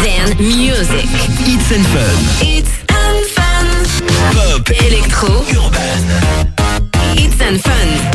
European music. It's and Fun. It's and Fun. Pop. Electro. Urban. It's and Fun.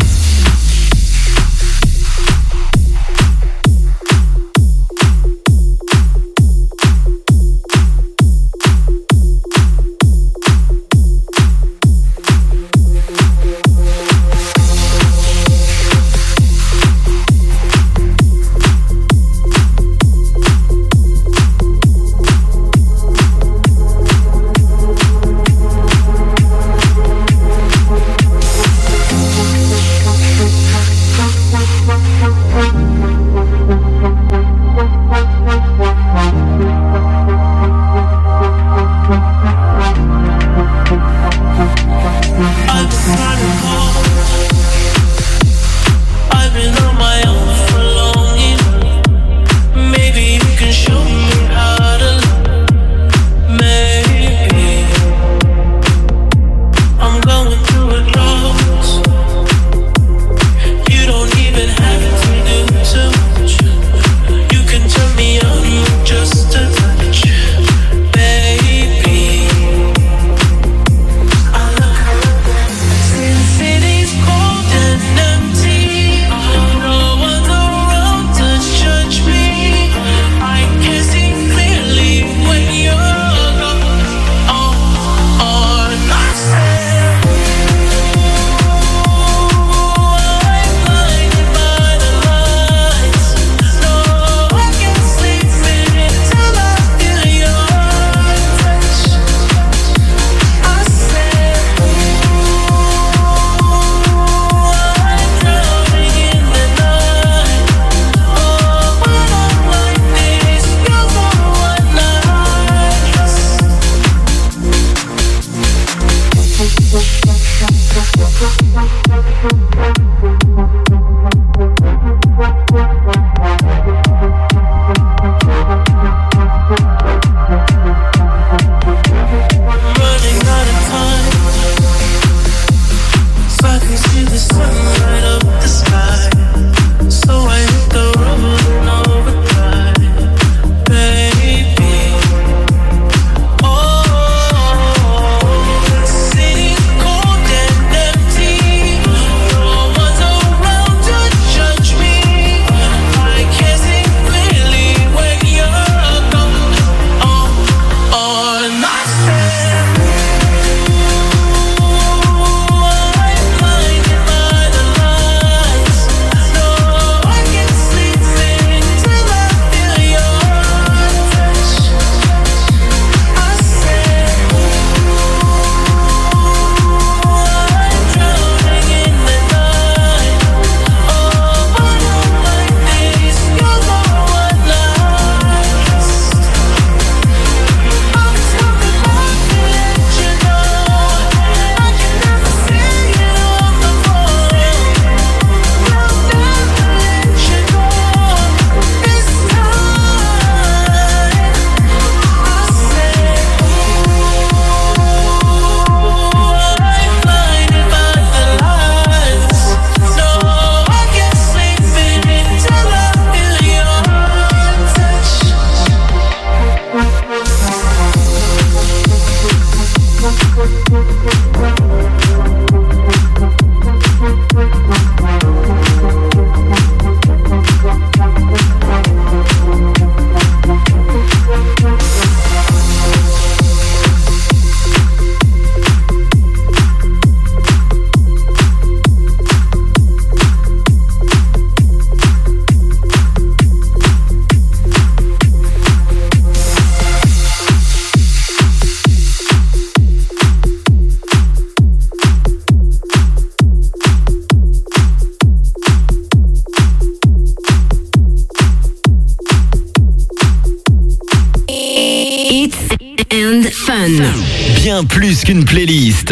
Bien plus qu'une playlist.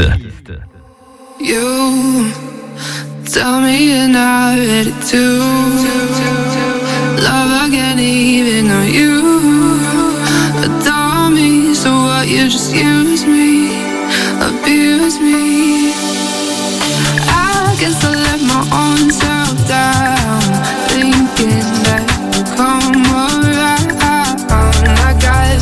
You tell me you're not ready to love again, even though you adore me. So what? You just use me, abuse me. I guess I let my own self down, thinking that you'll come around. I got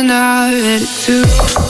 not ready to.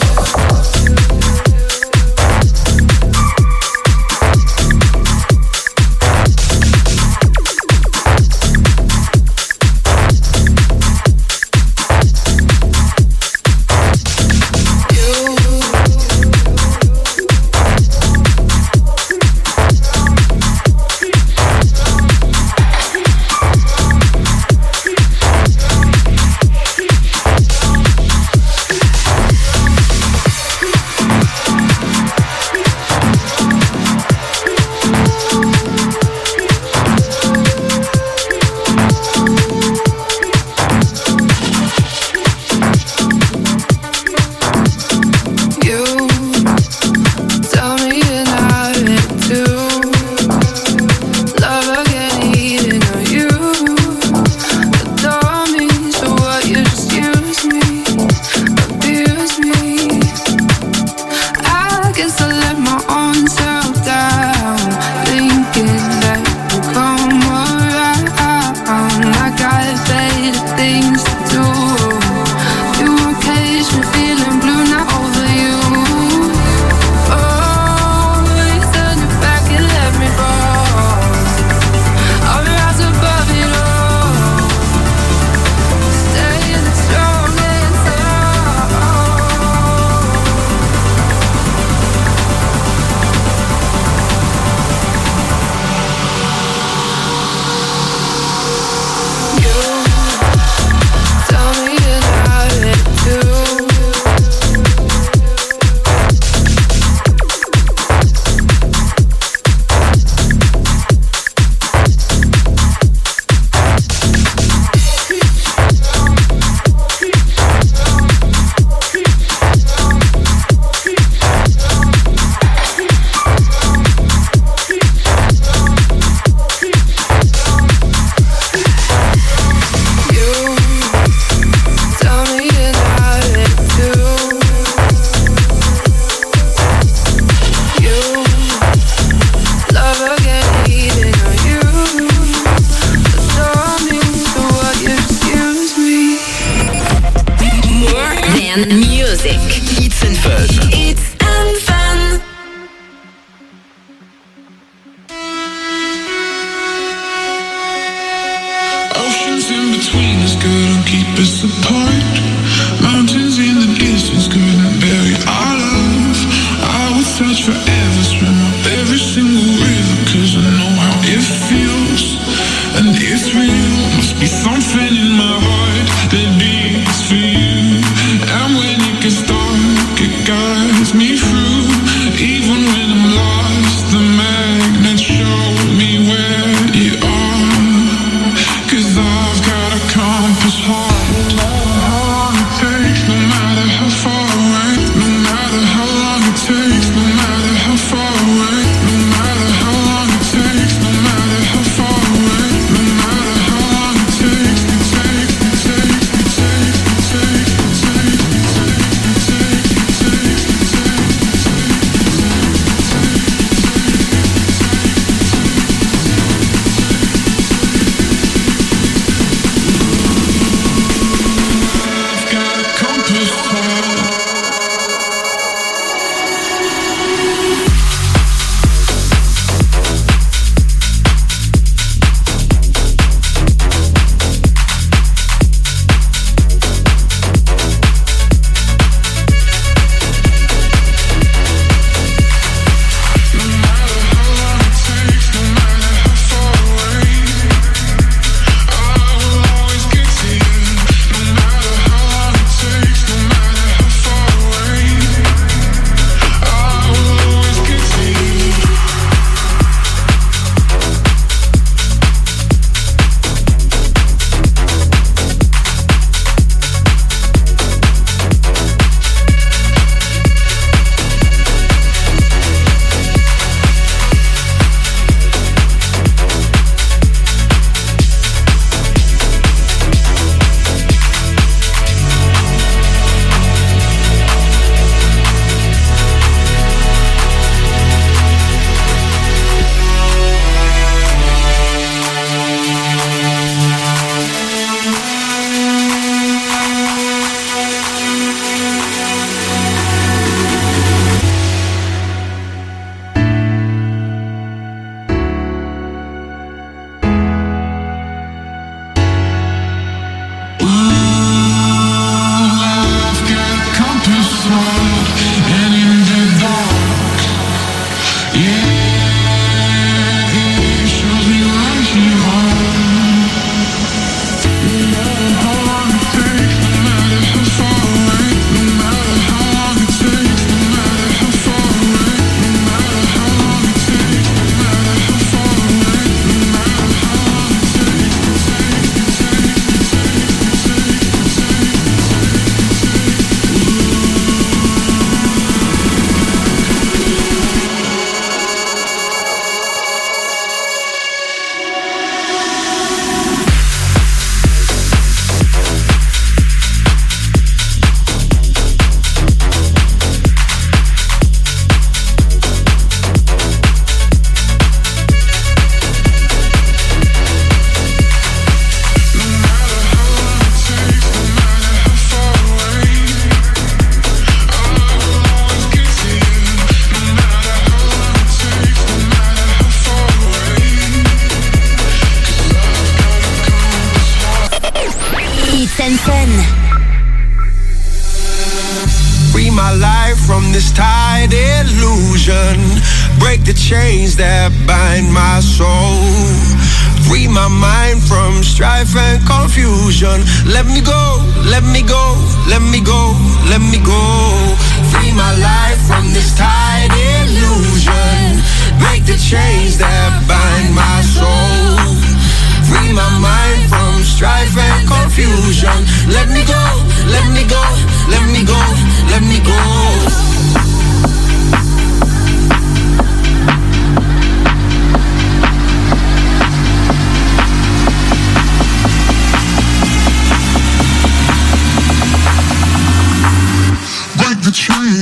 Music. It's and Fun. It's and Fun. Oceans in between us couldn't keep us apart. Mountains in the distance couldn't bury our love. I would search forever, swim up every single river, 'cause I know how it feels, and it's real. Must be something in my heart that beats for you. And when it gets dark, it guides me through. Even when I'm lost, the magnets show me where you are. 'Cause I've got a compass heart. Free my life from this tired illusion. Break the chains that bind my soul. Free my mind from strife and confusion. Let me go, let me go, let me go, let me go. Free my life from this tired illusion. Break the chains that bind my soul. Free my mind from strife and confusion. Let me go, let me go, let me go, let me go. Break the chains.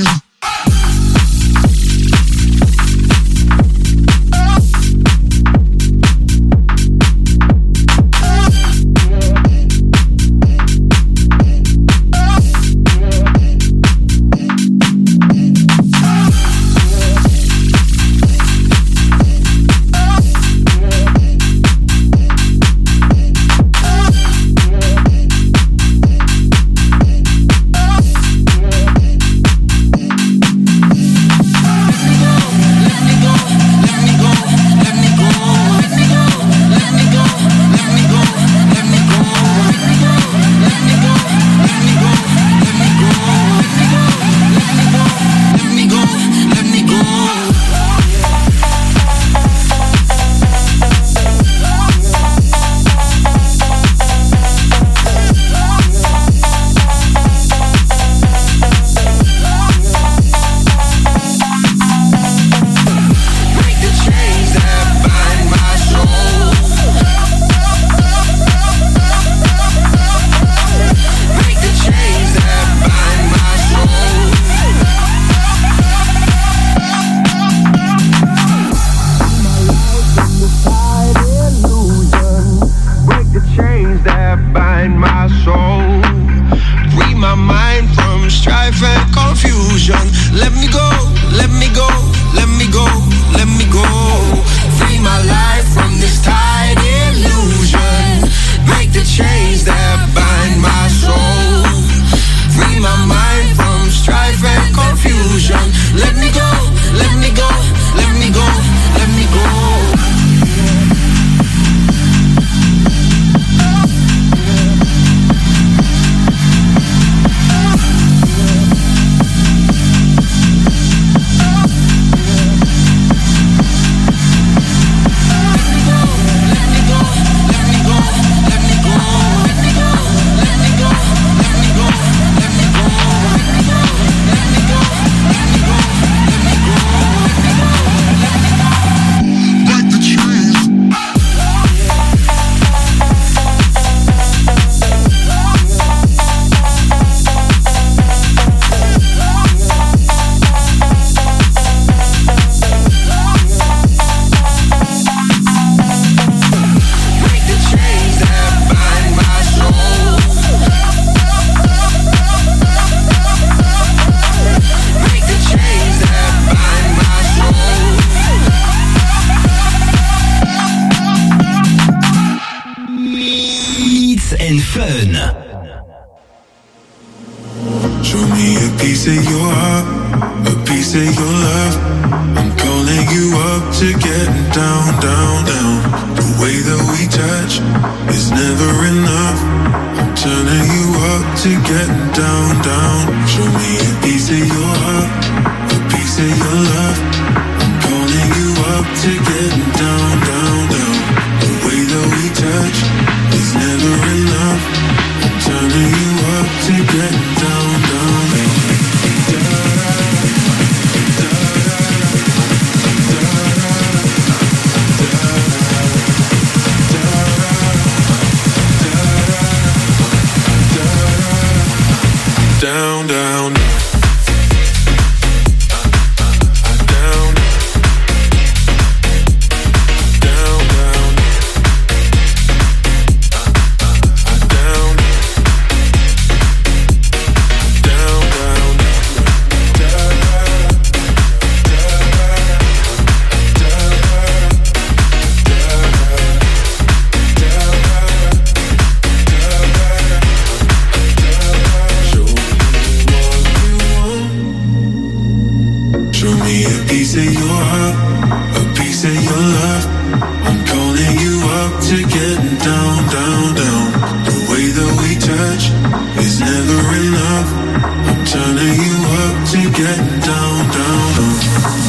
piece of your heart, a piece of your love. I'm calling you up to get down, down, down. The way that we touch is never enough. I'm turning you up to get down, down, down.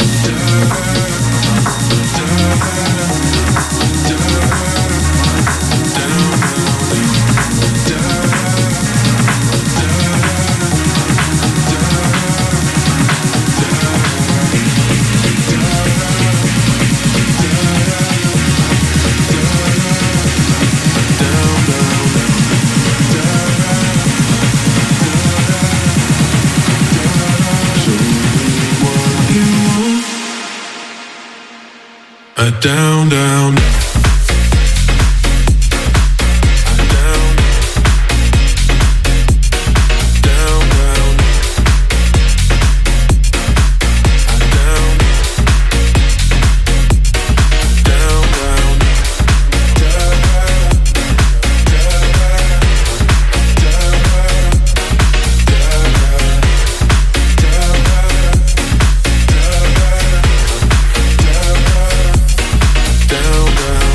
Down, down. Down, down.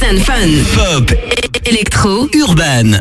and Fun. Pop, Électro. urban.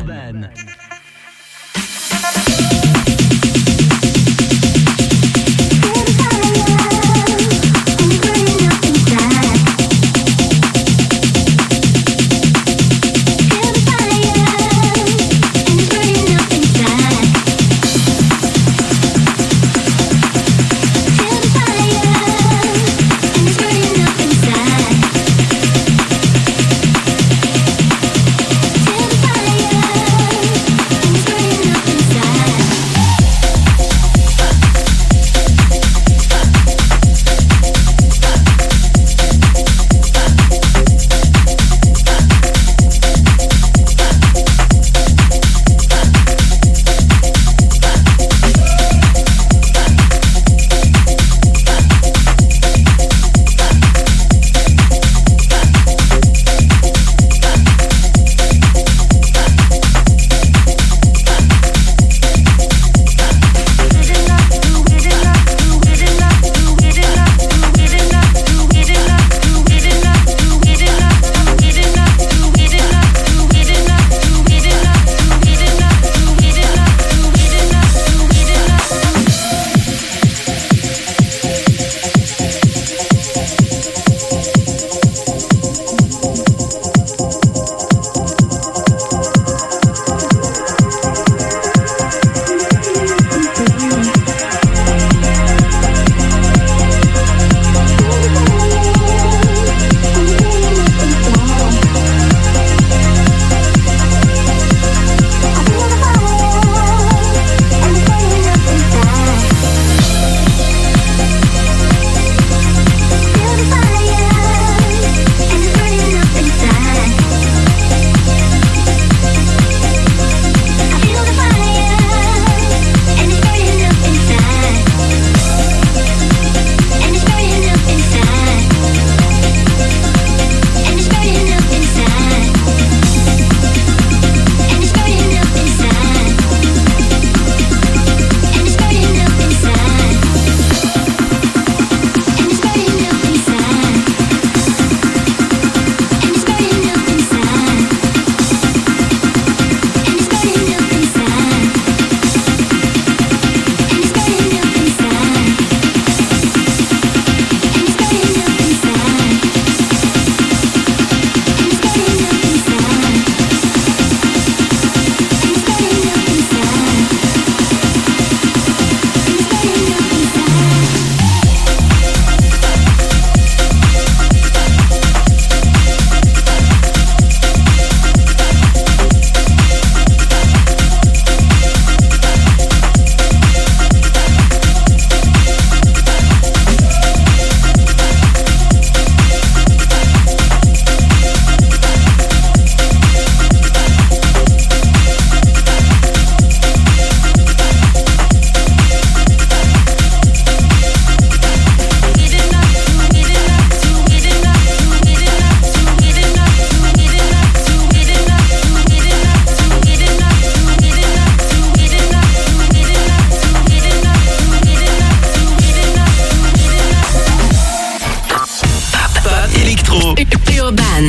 Urban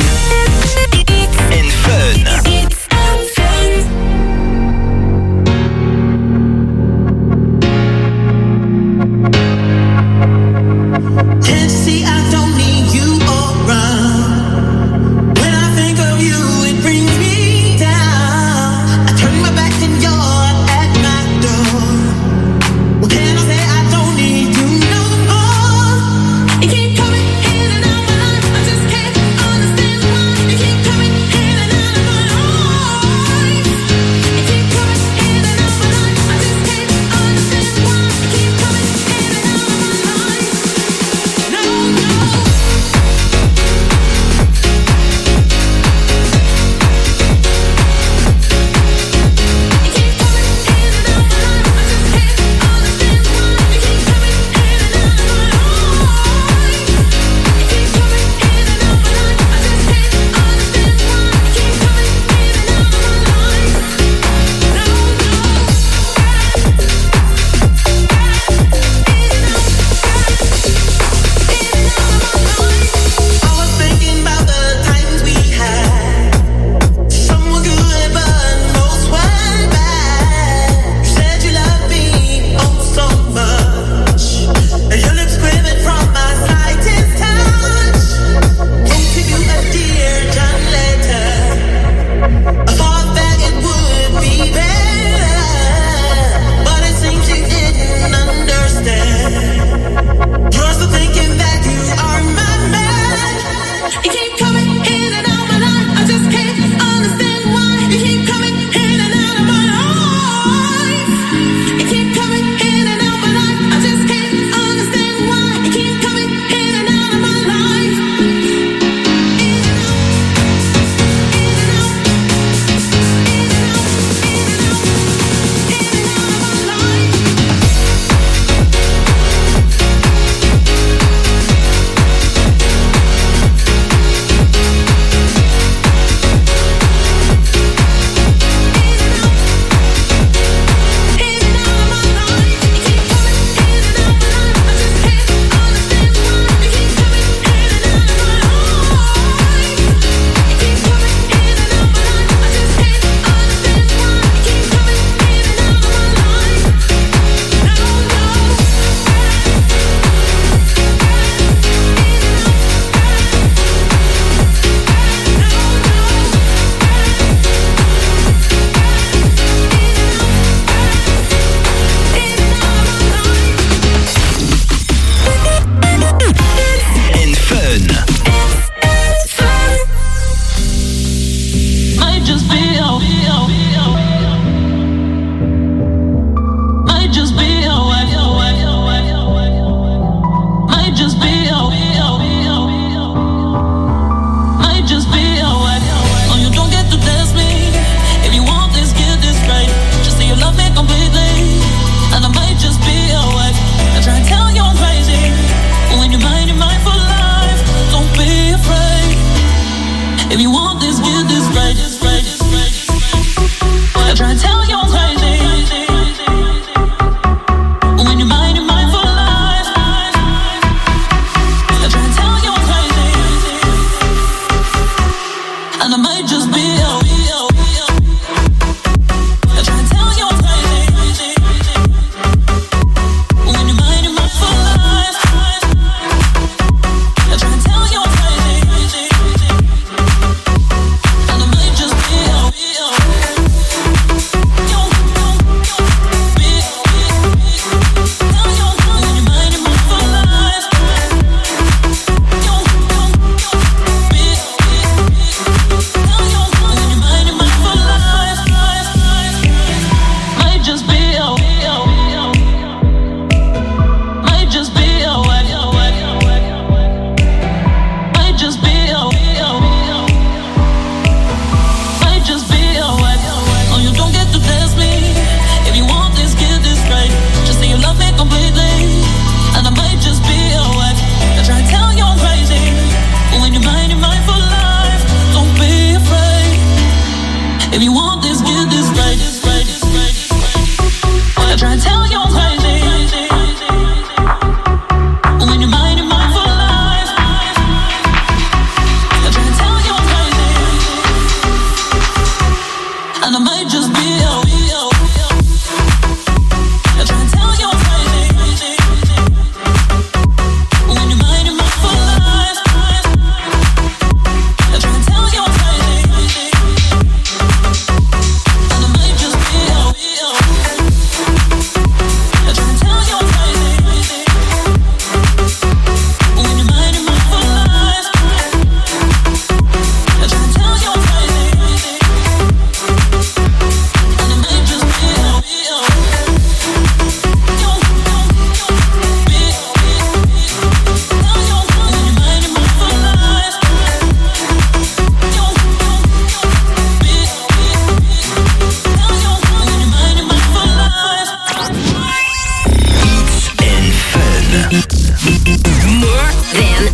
and Fun. Can't see I don't need you around. When I think of you, it brings me down. I turn my back and you're at my door. What can I say? I don't need you no more. You keep coming in and out my life. I just can't understand why. You keep coming in and out of my life. You keep coming in and out my life. I just can't understand why. You keep coming in and out of my life. No, no. You keep coming in and out my life. I just can't understand why. You keep coming in and out of my life.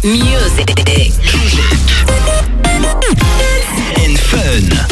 Music and fun.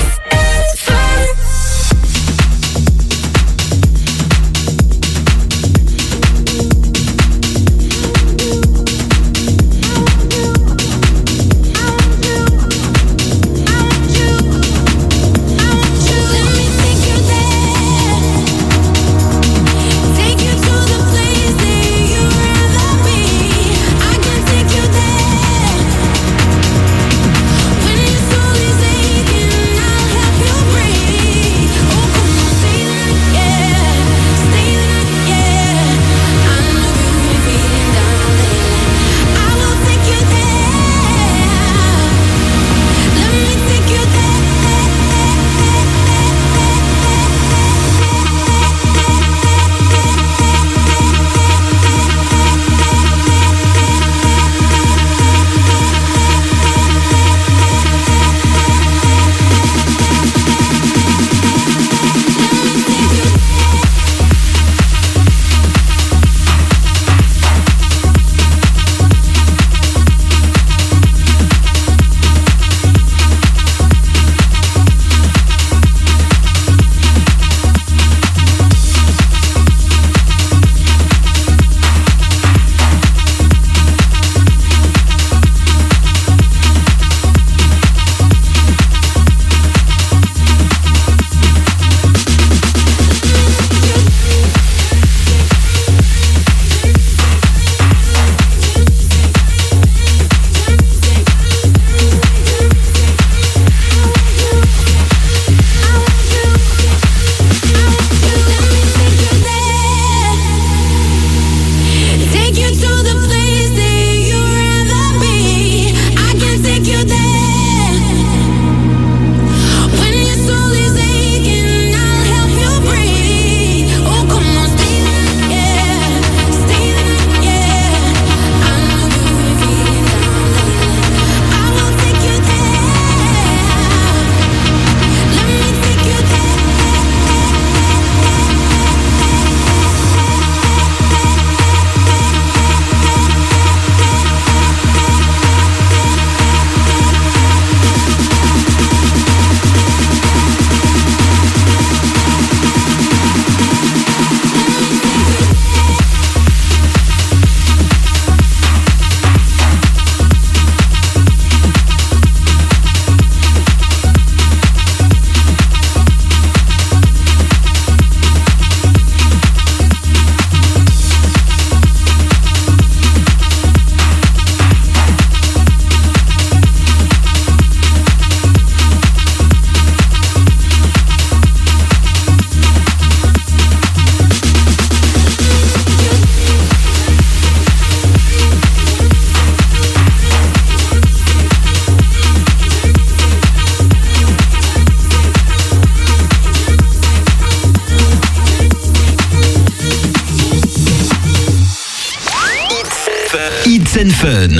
Hits and Fun.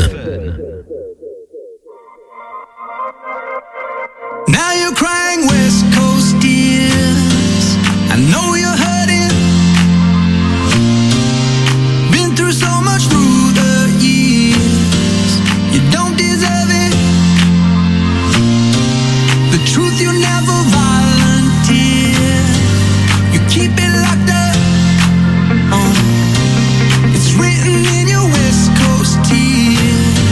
Now you're crying West Coast tears. I know you're hurting. Been through so much through the years. You don't deserve it. The truth you never volunteer. You keep it locked up. It's written in your West Coast tears.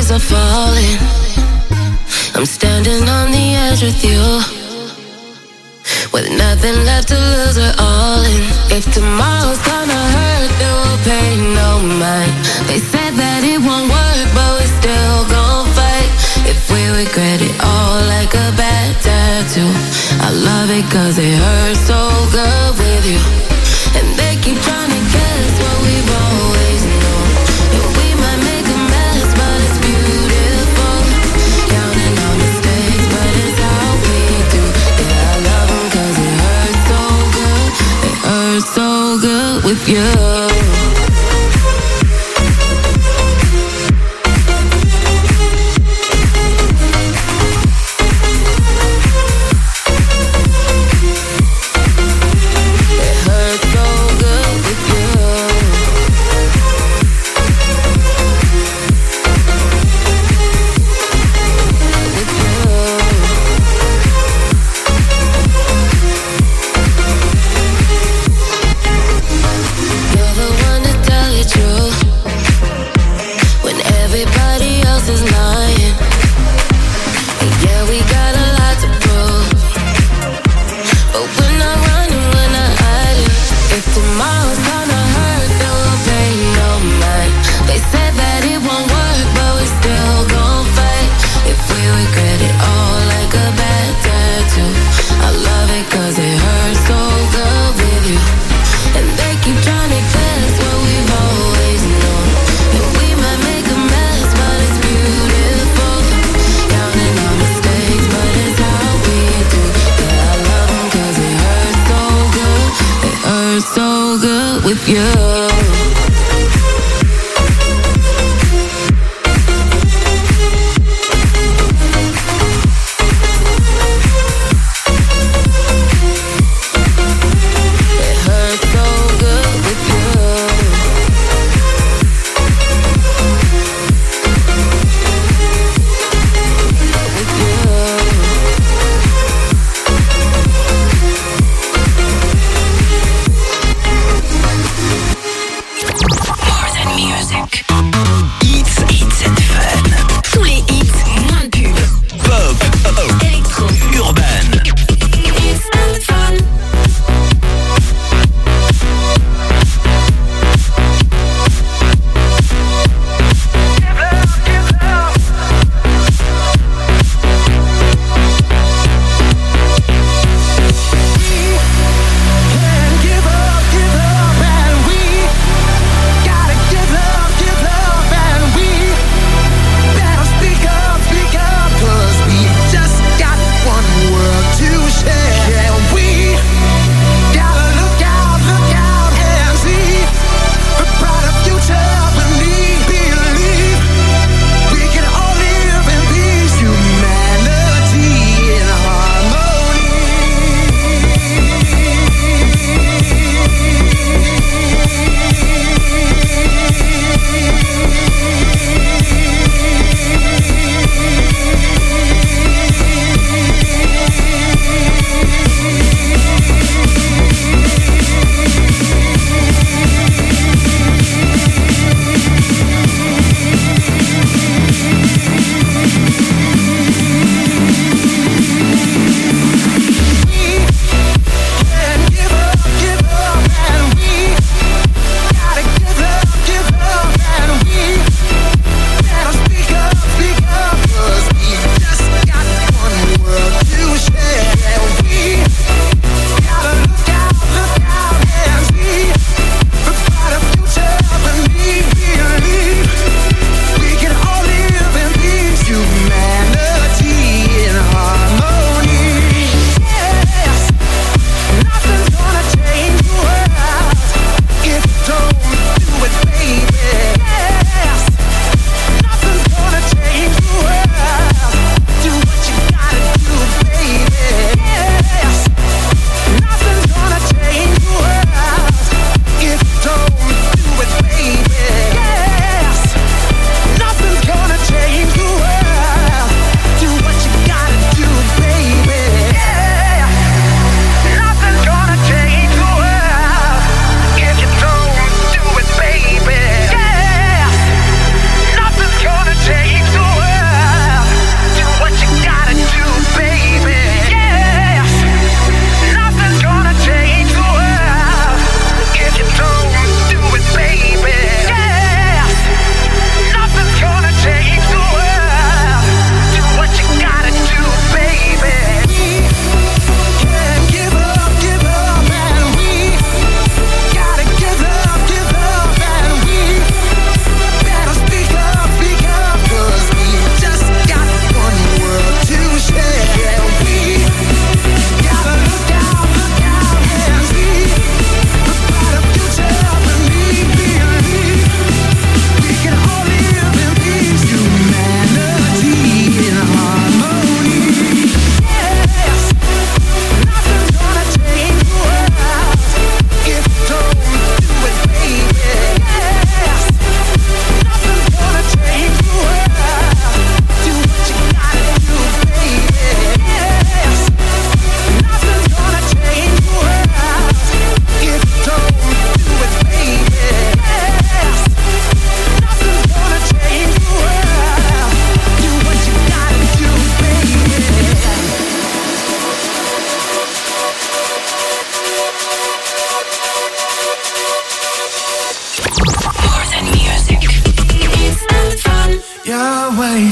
leaves are falling. I'm standing on the edge with you, with nothing left to lose, we're all in. If tomorrow's gonna hurt, then we'll pay no mind. They said that it won't work, but we still gon' fight. If we regret it all like a bad tattoo, I love it cause it hurts so good with you. And they keep trying to guess what we've always known. And we might make a mess, but it's beautiful. Counting on mistakes, but it's how we do. Yeah, I love them cause it hurts so good. It hurts so good with you. With you. Give love,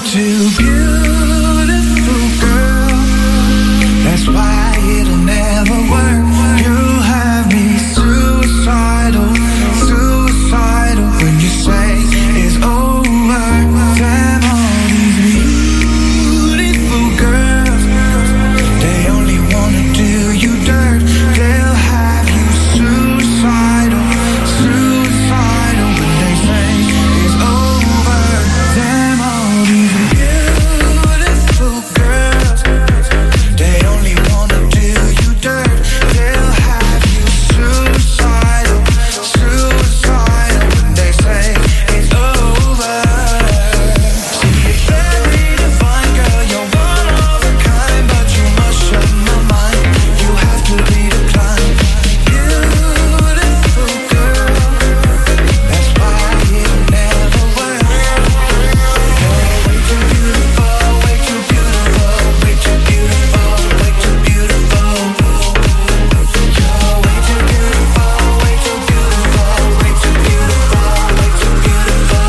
too beautiful, girl. That's why it'll never work. You have me suicidal, suicidal when you say it's over. Damn, all these beautiful girls, they only wanna do you dirt. They'll have you suicidal, suicidal when they say it's over. Damn, all these beautiful girls, they only wanna do you dirt. They'll have you suicidal, suicidal when they say it's over. See, you're very divine, girl, you're one of a kind, but you must shut my mind. You have to be declined. Beautiful girl, that's why it'll never work. You're way too beautiful, way too beautiful, way too beautiful, way too beautiful. You're way too beautiful, way too beautiful, way too beautiful, way too beautiful.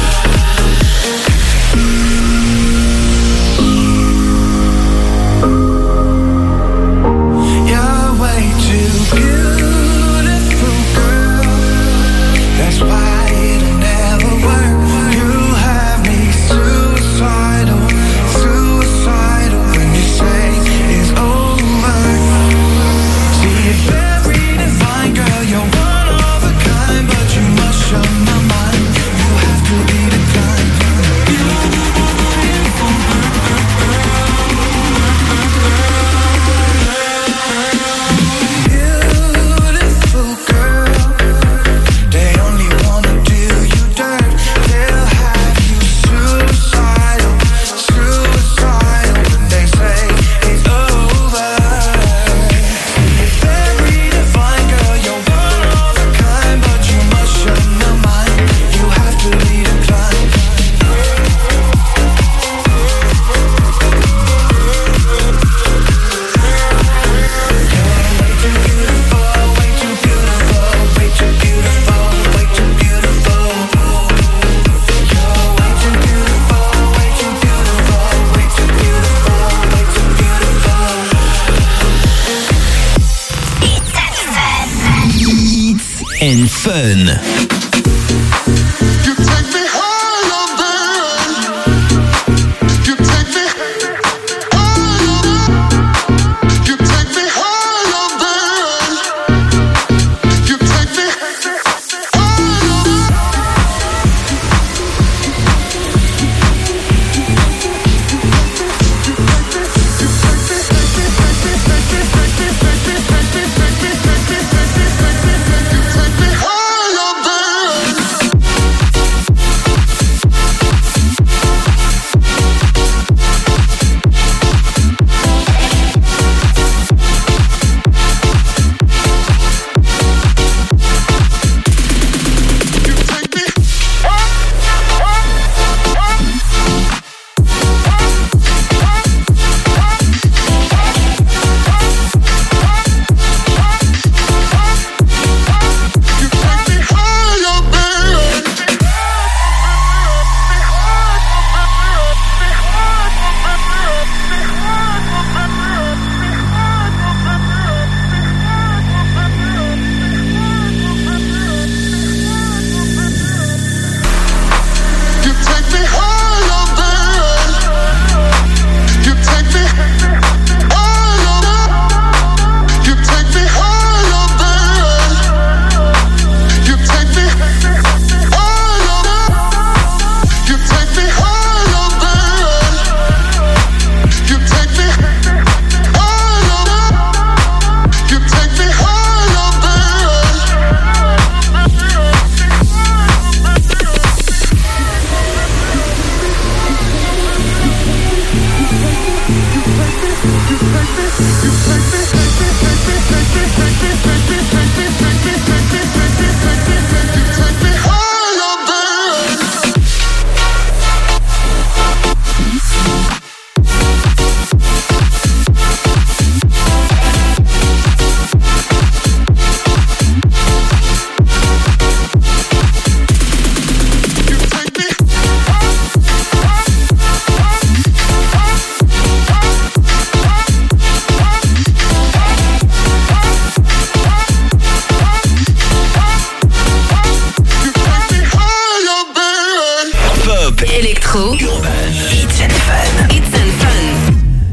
You're way too beautiful, girl. That's why it'll never work. You have me suicidal, suicidal when you say it's over. See, you're very divine, girl, you're one of a kind, but you must shut my mind. You have to be declined. Beautiful girl, they only wanna do you dirt. They'll have you suicidal, suicidal when they say it's over. You're very divine, girl, you're one of a kind, but you must shut my mind. You have to be declined. Way too beautiful, way too beautiful, way too beautiful. You're way too beautiful, way too beautiful, way too beautiful, way too beautiful. Hits and Fun. You take me higher, babe. You take me higher. You take me higher, babe. You take me higher. You take me higher, babe. hip-hop, électro, urbain, hits and fun. hits and fun.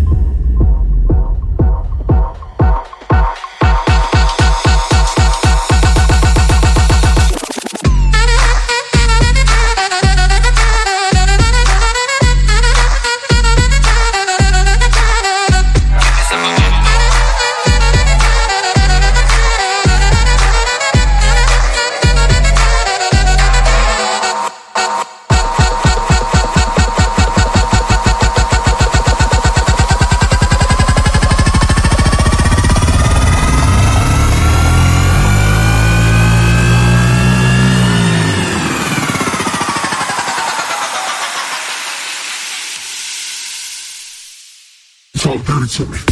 Talk dirty to me.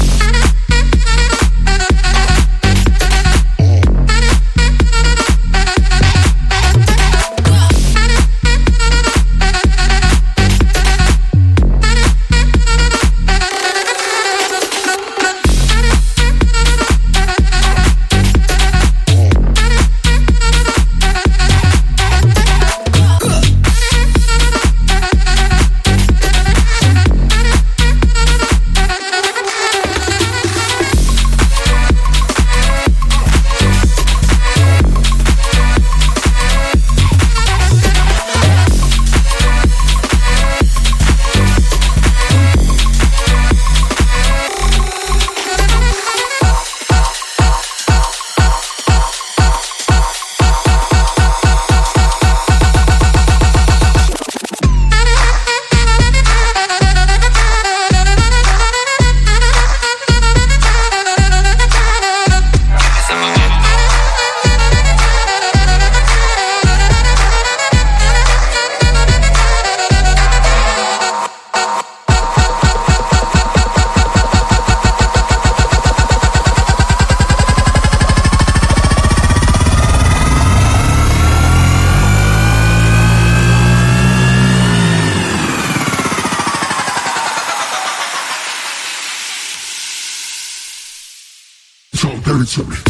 Talk dirty to me.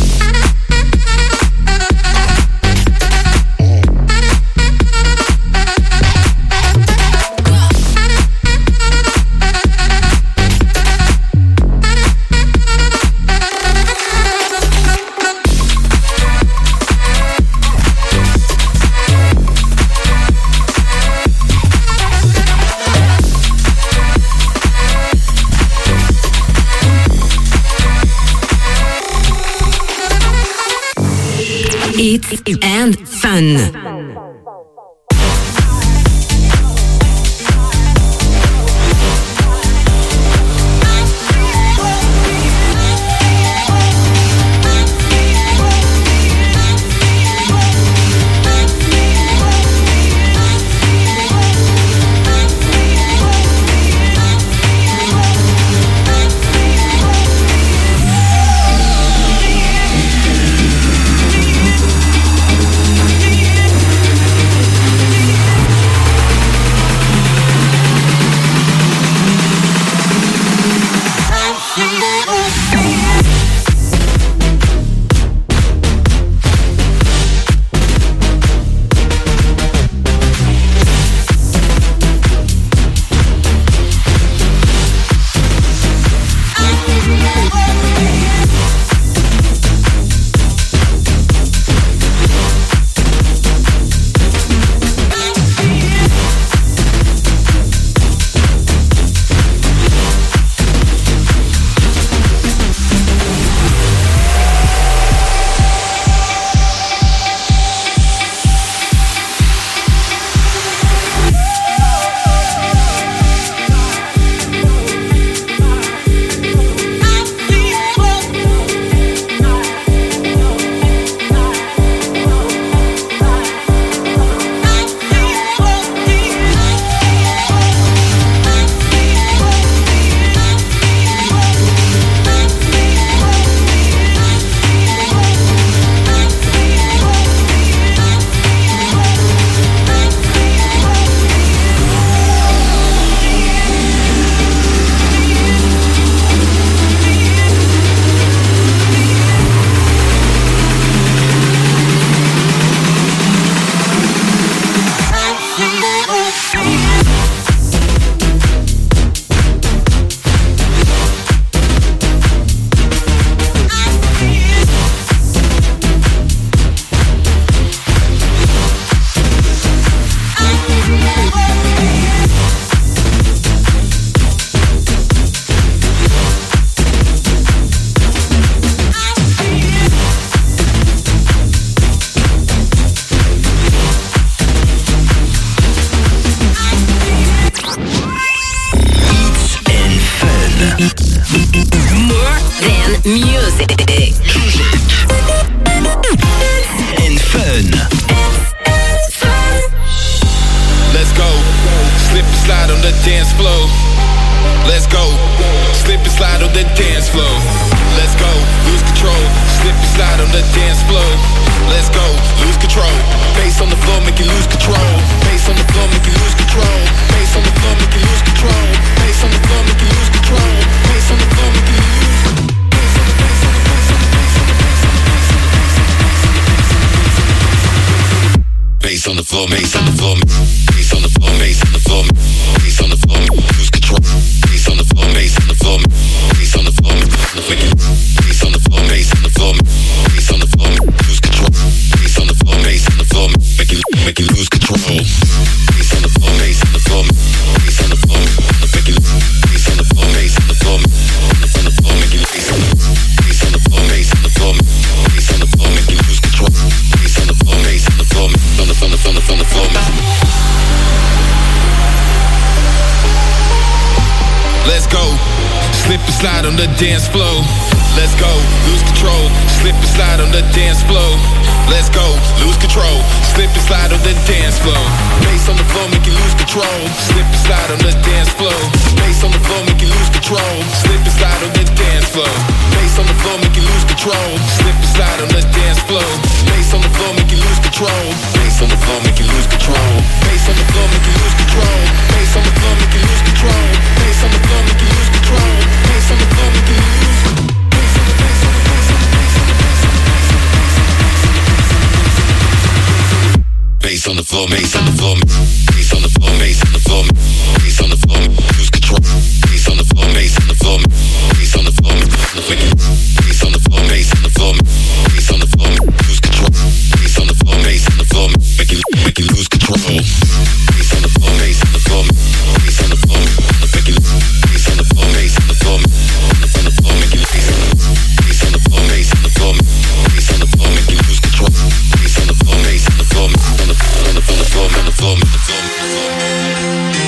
Hits and fun. music. And fun. Let's go. Slip and slide on the dance floor. Let's go. Slip and slide on the dance floor. Let's go. Lose control. Slip and slide on the dance floor. Let's go. Lose control. Bass on the floor, make you lose control. Bass on the floor, make you lose control. Bass on the floor, make you lose control. Bass on the floor, make you lose control. Bass on the floor, make you lose. Bass on the floor, bass on the floor, bass on the floor, bass on the floor, bass on the floor, lose control. Bass on the floor, bass on the floor, bass on the floor, bass on the floor, bass on the floor, bass on the floor, lose control. Bass on the floor, bass on the floor, make you lose control. Bass on the floor, bass on the floor, bass on the floor, make you bass on the floor, bass on the floor, bass on the floor, make you bass on the floor, bass on the floor, bass on the floor, make you lose control. Bass on the floor, bass on the floor, on the floor. Let's go. Slip and slide on the dance floor. Let's go. Lose control. Slip and slide on the dance floor. Let's go. Lose control. Slip and slide on the dance floor. Bass on the floor, make you lose control. Slip and slide on the dance floor. Bass on the floor, make you lose control. Slip and slide on the dance floor. Bass on the floor, make you lose control. Slip and slide on the dance floor. Bass on the floor, make you lose control. Bass on the floor, make you lose control. Bass on the floor, make you lose control. Bass on the floor, make you lose control. Bass on the floor, make you lose control. Bass on the floor, make you lose. Bass on the floor, bass on the floor, bass on the floor, bass on the floor, bass on the floor, lose control. Bass on the floor, bass on the floor, bass on the floor, bass on the floor, bass on the floor, bass on the floor, lose control. Bass on the floor, bass on the floor, make you lose control. Bass on the floor, bass on the floor, bass on the floor, make you bass on the floor, bass on the floor, bass on the floor, make you bass on the floor, bass on the floor, bass on the floor, make you lose control. Bass on the floor, bass on the floor, on the floor, on the floor, on the floor, on the floor.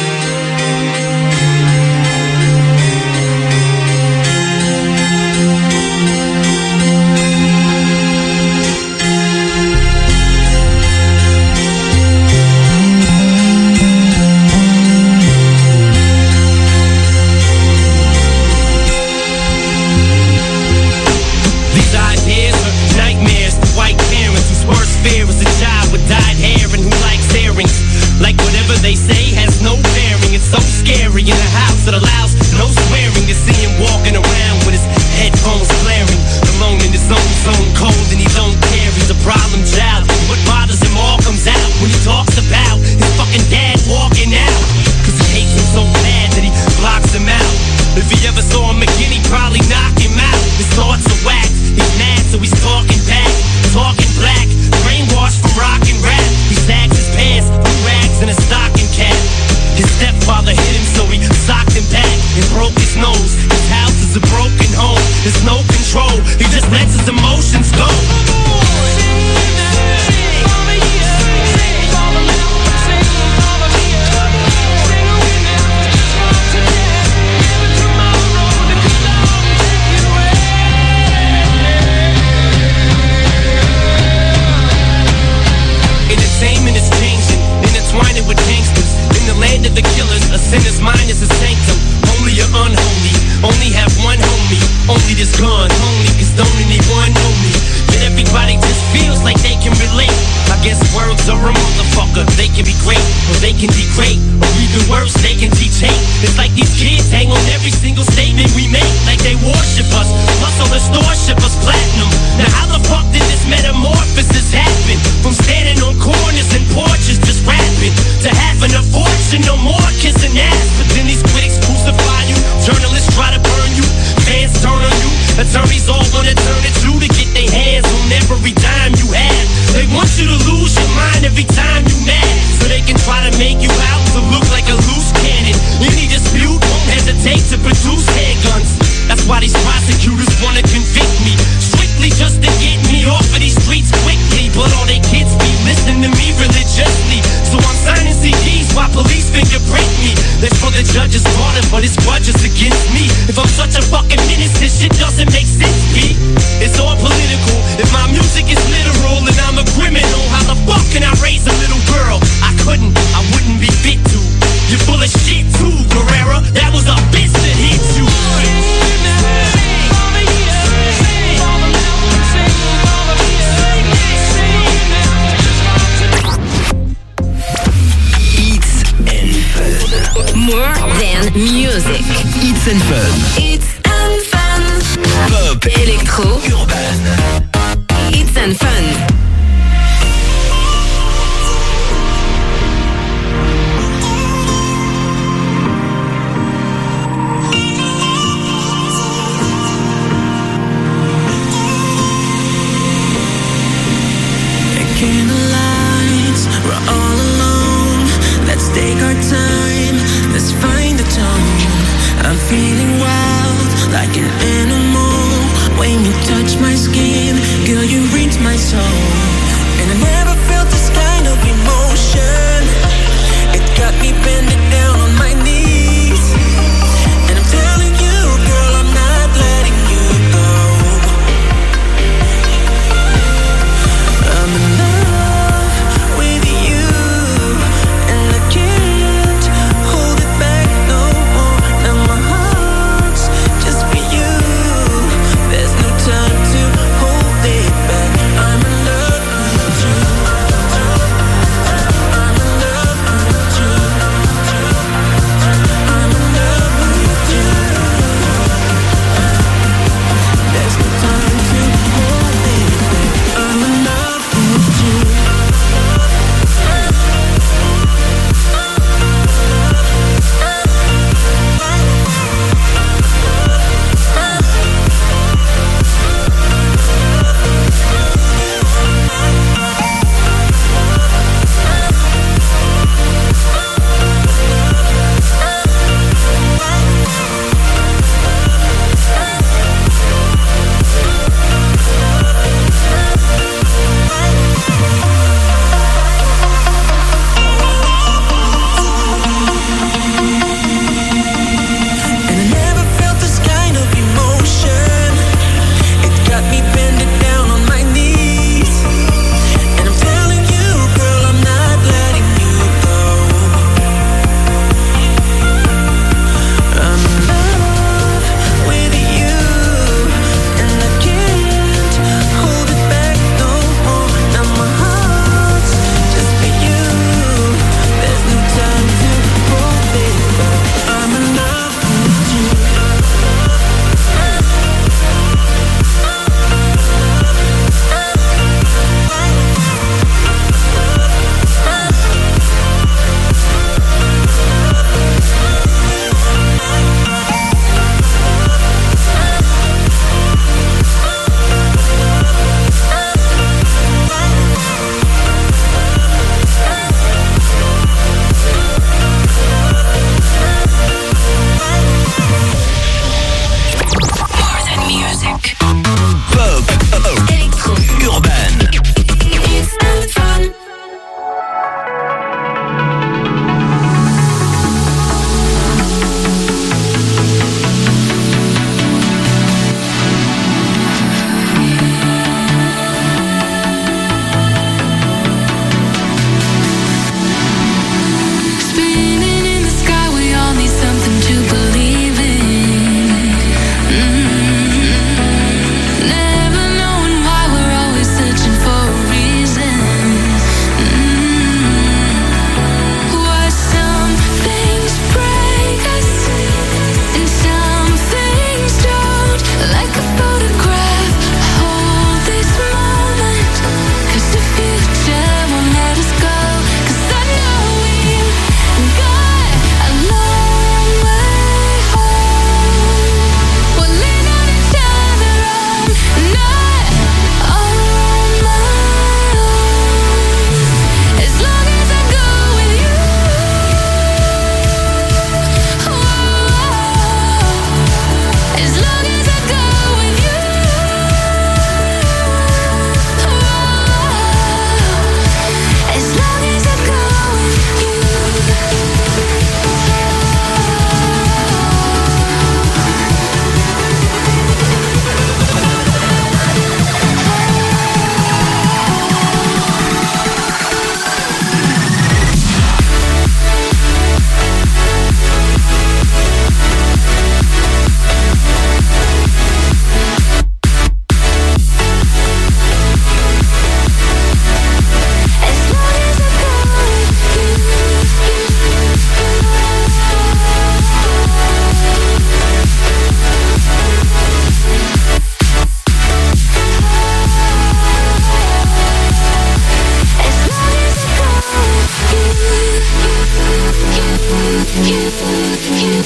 They say has no bearing. It's so scary in a house that allows no swearing. To see him walking around with his headphones blaring, alone in his own zone, cold and he don't care. He's a problem child. What bothers him all comes out when he talks about his fucking dad walking out. Cause he hates him so bad that he blocks him out. If he ever saw him again, he'd probably knock him out. His thoughts are whacked. He's mad, so he's talking back, talking black, brainwashed from rock and rap. He sags his pants, blue rags, and a stocking cap. His stepfather hit him, so he socked him back and broke his nose. His house is a broken home. There's no control. He just lets his emotions go. Entertainment is changing, intertwining with gangsters. In the land of the killers, a sinner's mind is a sanctum. Holy or unholy, only have one homie. Only this gun, only cause don't anyone know me. But everybody just feels like they can relate. I guess words are a motherfucker. They can be great, or they can degrade, or even worse, they can teach hate. It's like these kids hang on every single statement we make, like they worship us. Plus all the store ship us platinum. Now how the fuck did this metamorphosis happen? From standing on corners and porches just rapping, to having a fortune, no more kissing ass. But then these critics crucify you, journalists try to burn you, fans turn on you, attorneys all wanna turn it to get their hands on every dime you have. They want you to lose your mind every time you mad, so they can try to make you out to look like a loose cannon. Any dispute won't hesitate to produce handguns. That's why these prosecutors wanna convict me, strictly just to get me off of these streets quickly. But all they kids be listening to me religiously, so I'm signing CDs while police fingerprint me. That's for the judge's pardon, but his grudges against me. If I'm such a fucking menace, this shit doesn't make sense. More than music. It's and Fun. It's and Fun. Pop. Electro. Urban. It's and Fun. Candlelights, we're all alone. Let's take our time, let's find the tone. I'm feeling wild, like an animal. When you touch my skin, girl, you reach my soul.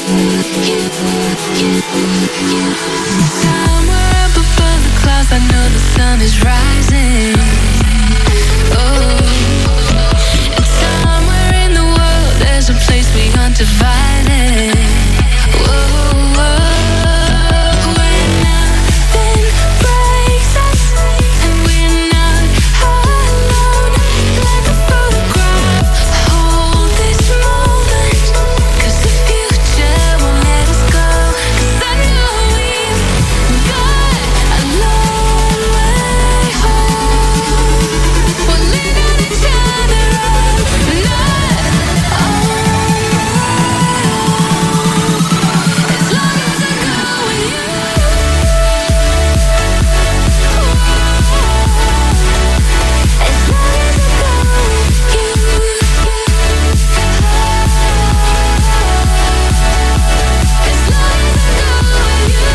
Somewhere up above the clouds, I know the sun is rising. Oh, and somewhere in the world, there's a place we aren't divided. Whoa, when nothing breaks us and we're not alone, like a photograph, hold this moment, 'cause the future won't let us go. 'Cause I know we've got a long way home. We'll lean on each other all night, as long as I go with you. As long as I go with you. As long as I go with you.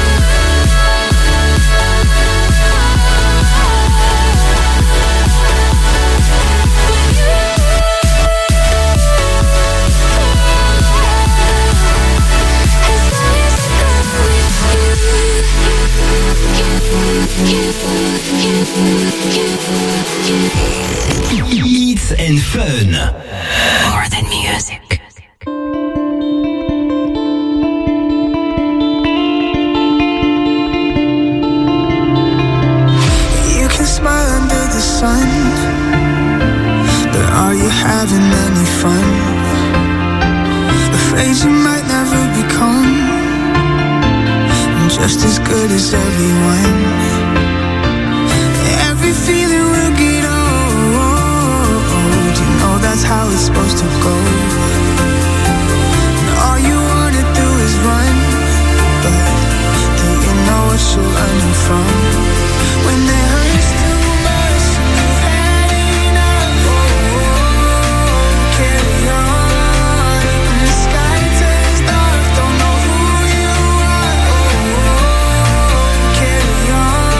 Hits and Fun. More than music. You can smile under the sun, but are you having any fun? Afraid you might never become just as good as everyone. Every feeling will get old. You know that's how it's supposed to go. And all you wanna do is run, but do you know what you're running from? When it hurts too much, you've had enough. Carry on. When the sky turns dark, don't know who you are. Carry on.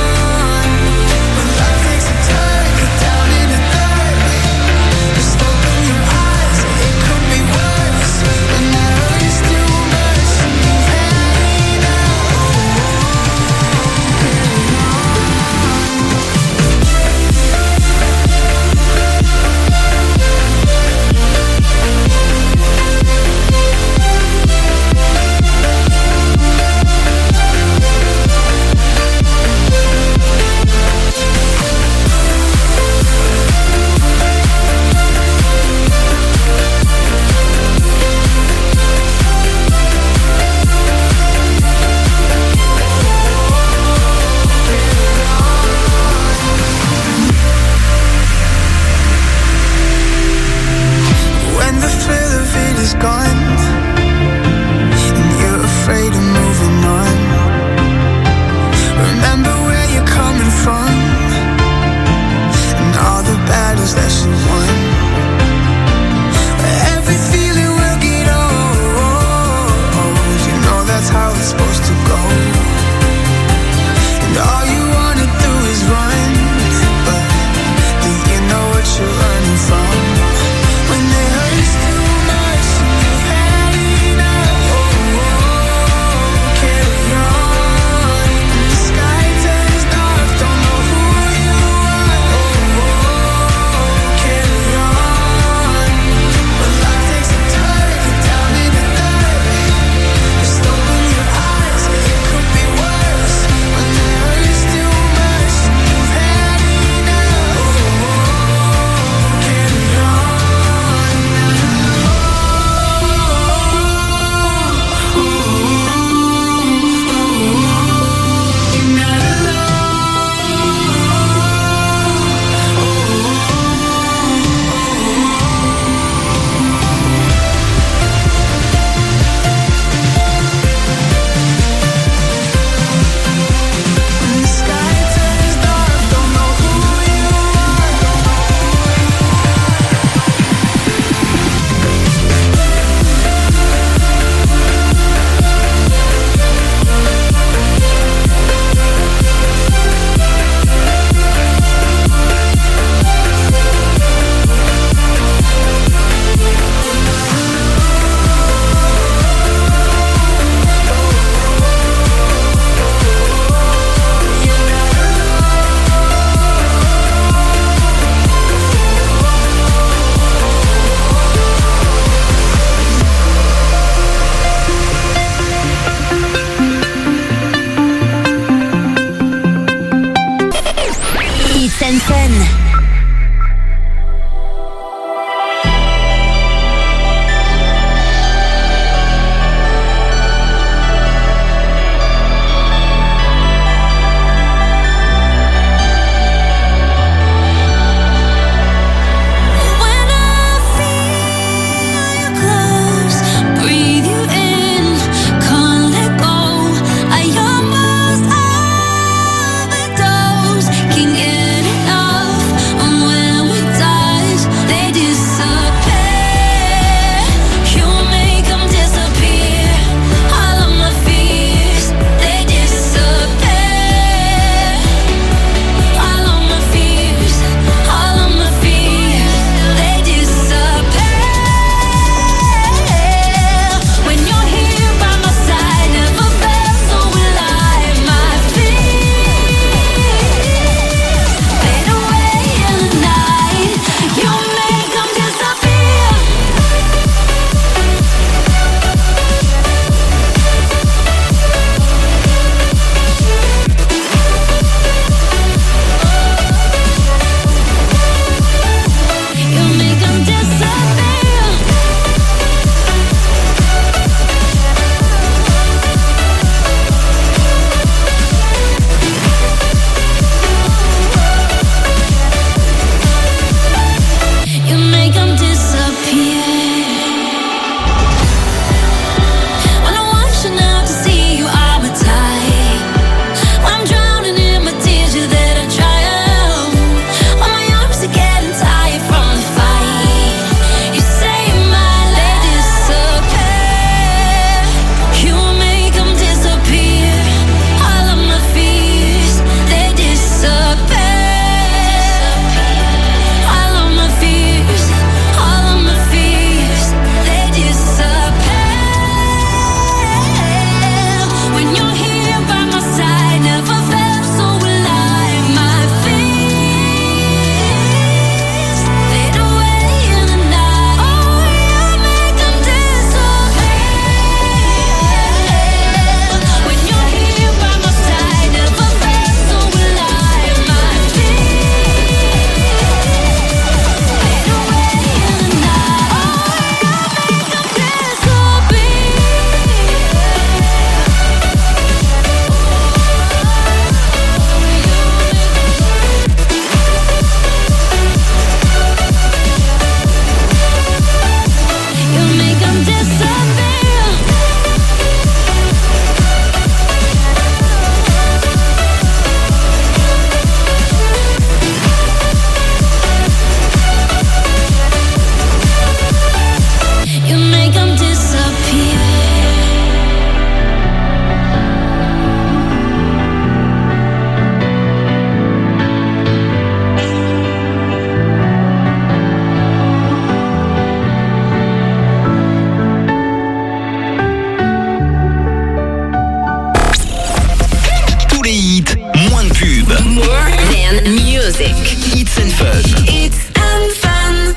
music. It's and Fun. It's and Fun.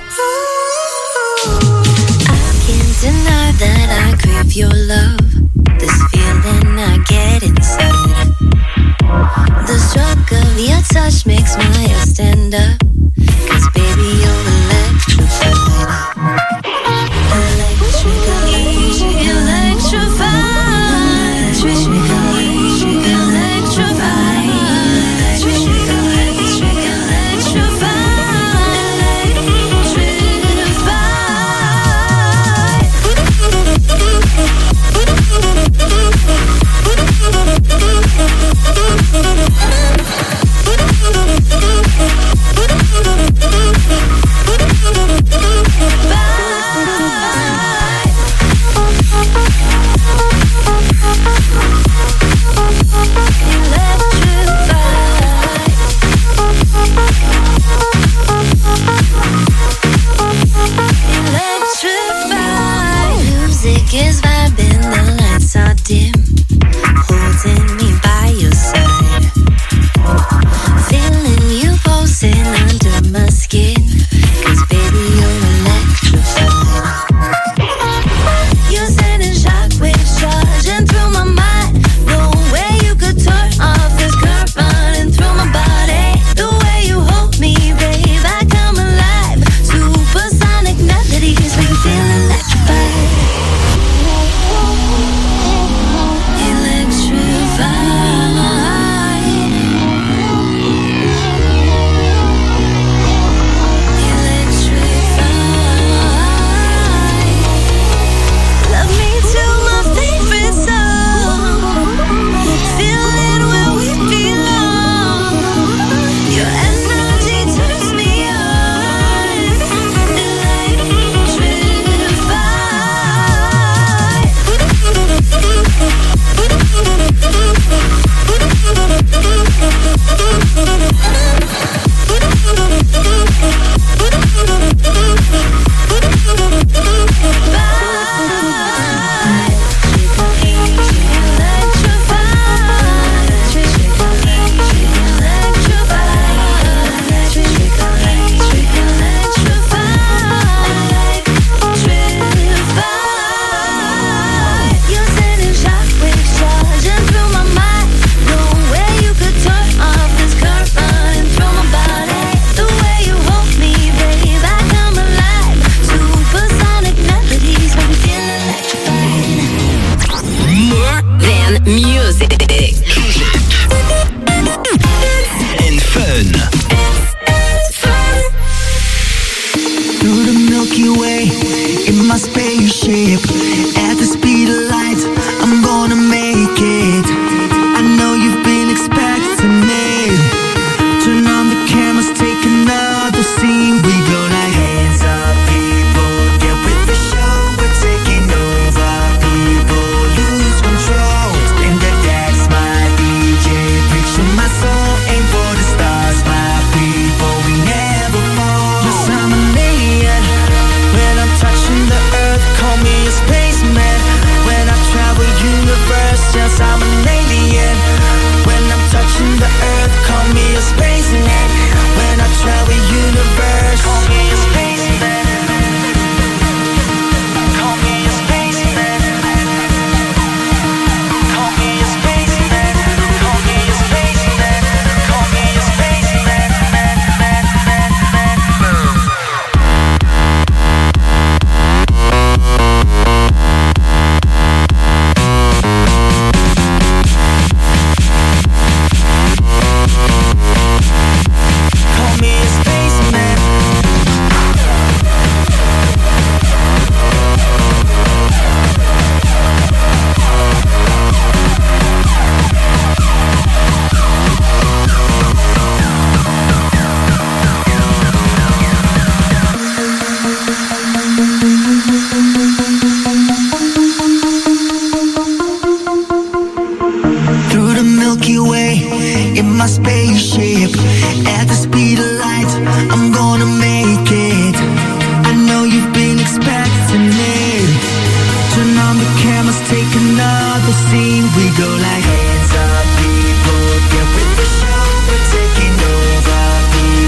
I can't deny that I crave your love. This feeling I get inside. The stroke of your touch makes my hair stand up. 'Cause baby you're electrified. Electrified. Is vibing, the lights are dim, holding me by your side, feeling you pulsing under my skin, 'cause baby you're electrified. You're sending shockwaves charging through my mind. No way you could turn off this current running through my body. The way you hold me, babe, I come alive. Supersonic melodies make me feel electrified. Hands up, people, get with the show. We're taking over.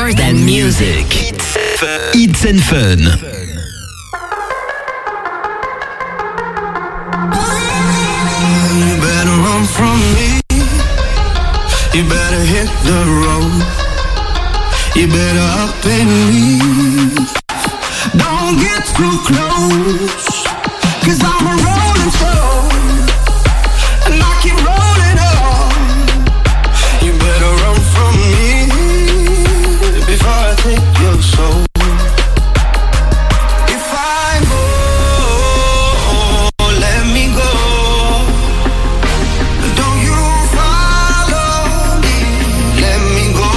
More than music. It's and Fun. You better run from me. You better hit the road. You better up and leave. Don't get too close, 'cause I'm a rolling stone and I keep rolling on. You better run from me before I take your soul. If I go, let me go. Don't you follow me, let me go.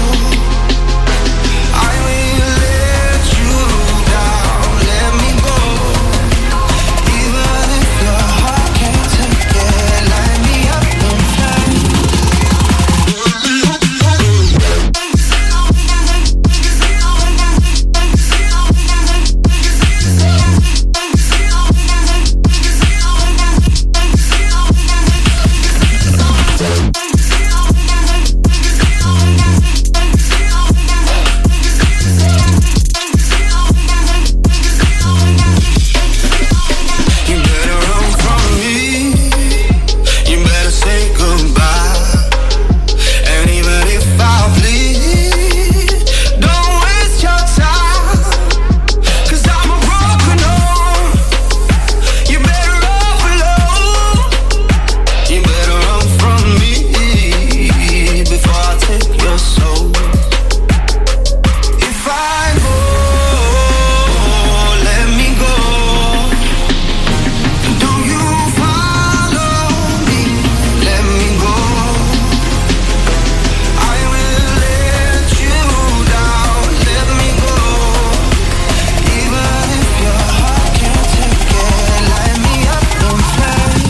I will let you down, let me go. Even if your heart can't take it, light me up and you better run from me. You better say goodbye. And even if I bleed, don't waste your time, 'cause I'm a broken home. You better overload. You better run from me before I take your soul. If I go, let me go. Don't you follow me, let me go. I will let you down, let me go. Even if your heart can't take it, light me up and flame.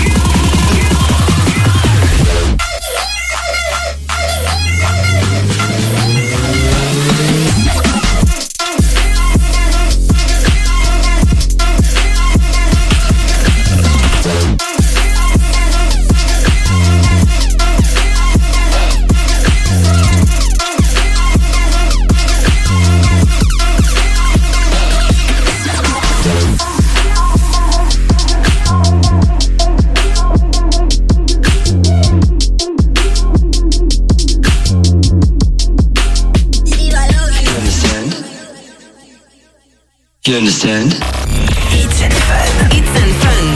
You understand? It's and Fun. It's and Fun.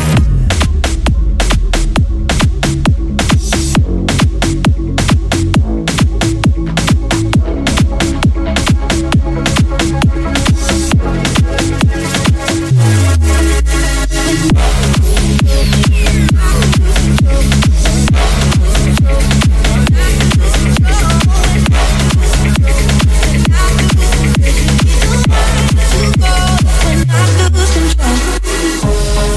When I lose control,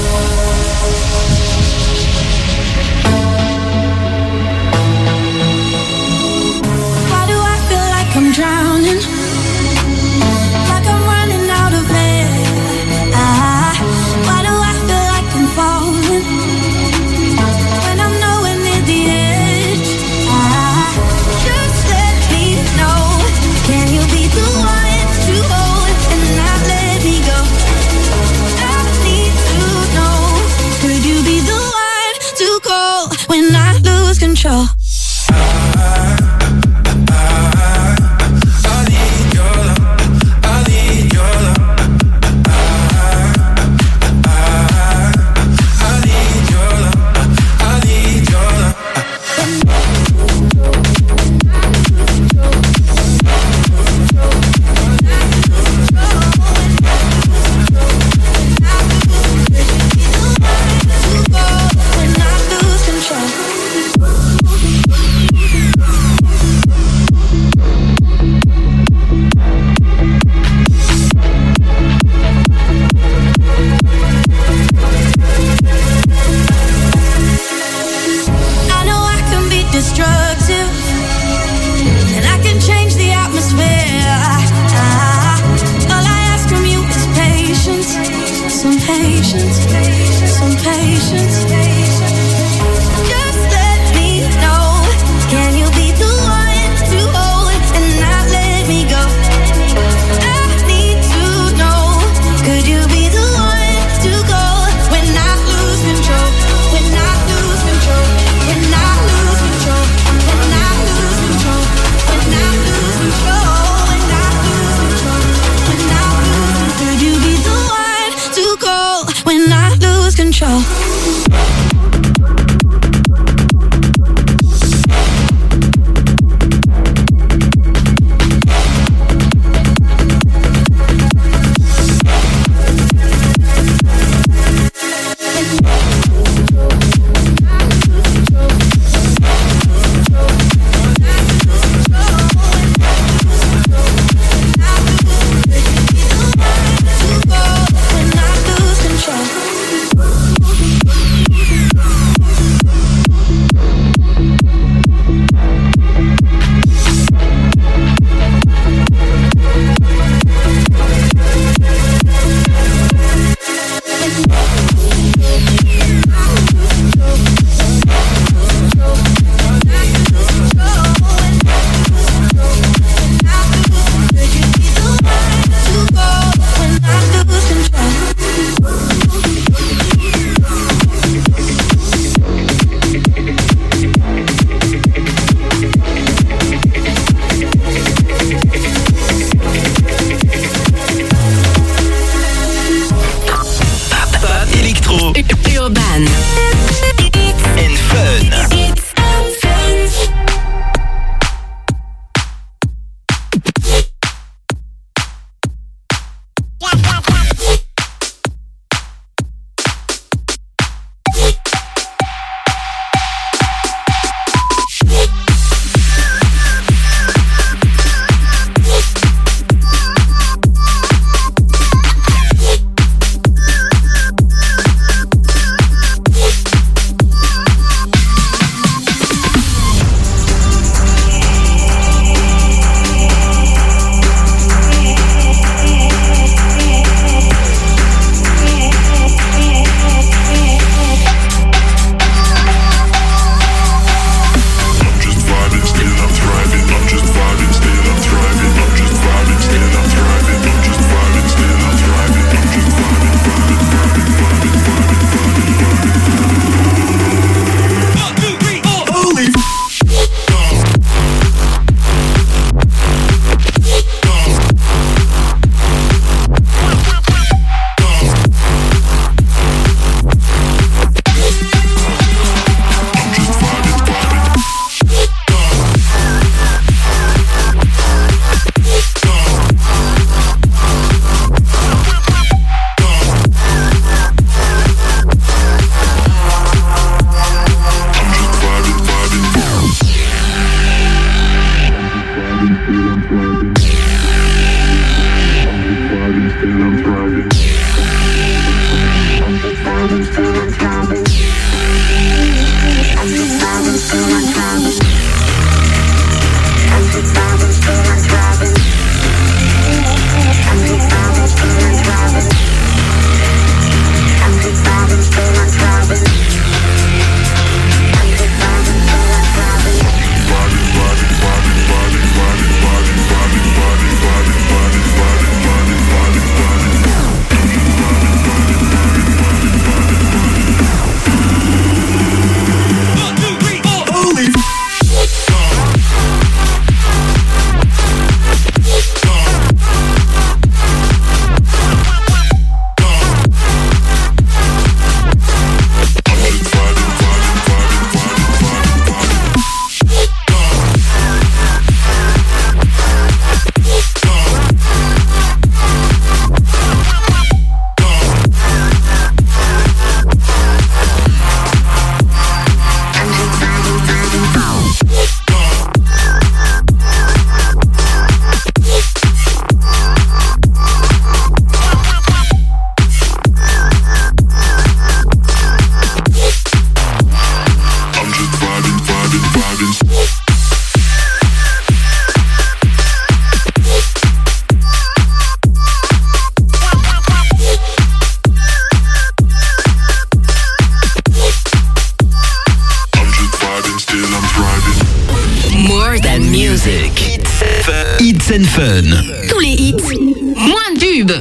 control. Hits and Fun. Tous les hits, moins de pubs.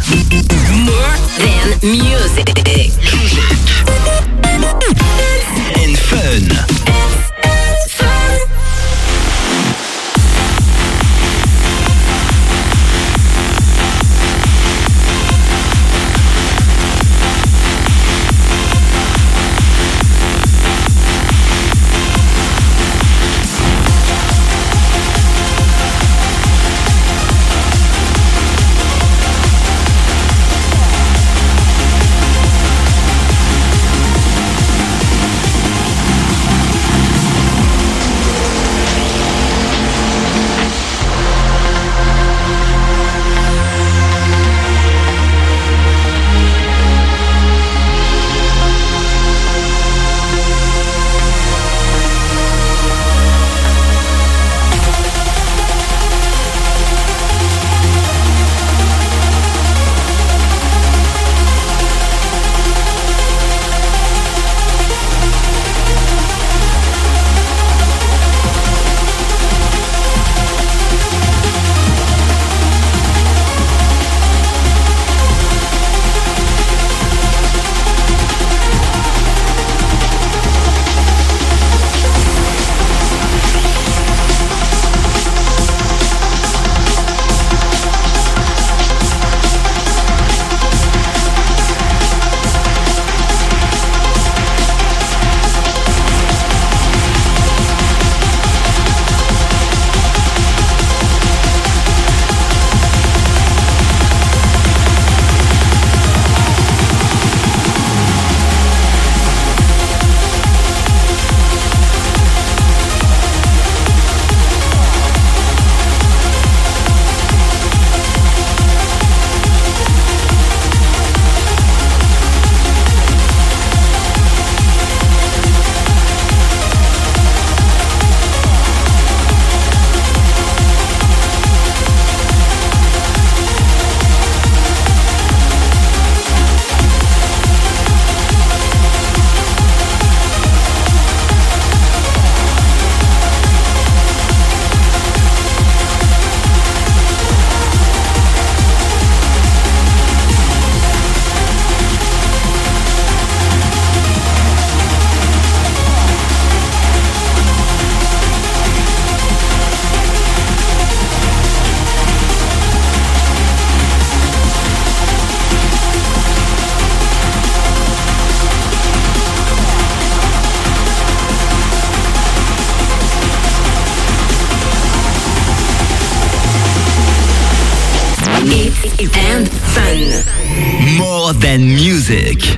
More than music. And fun. And fun. More than music.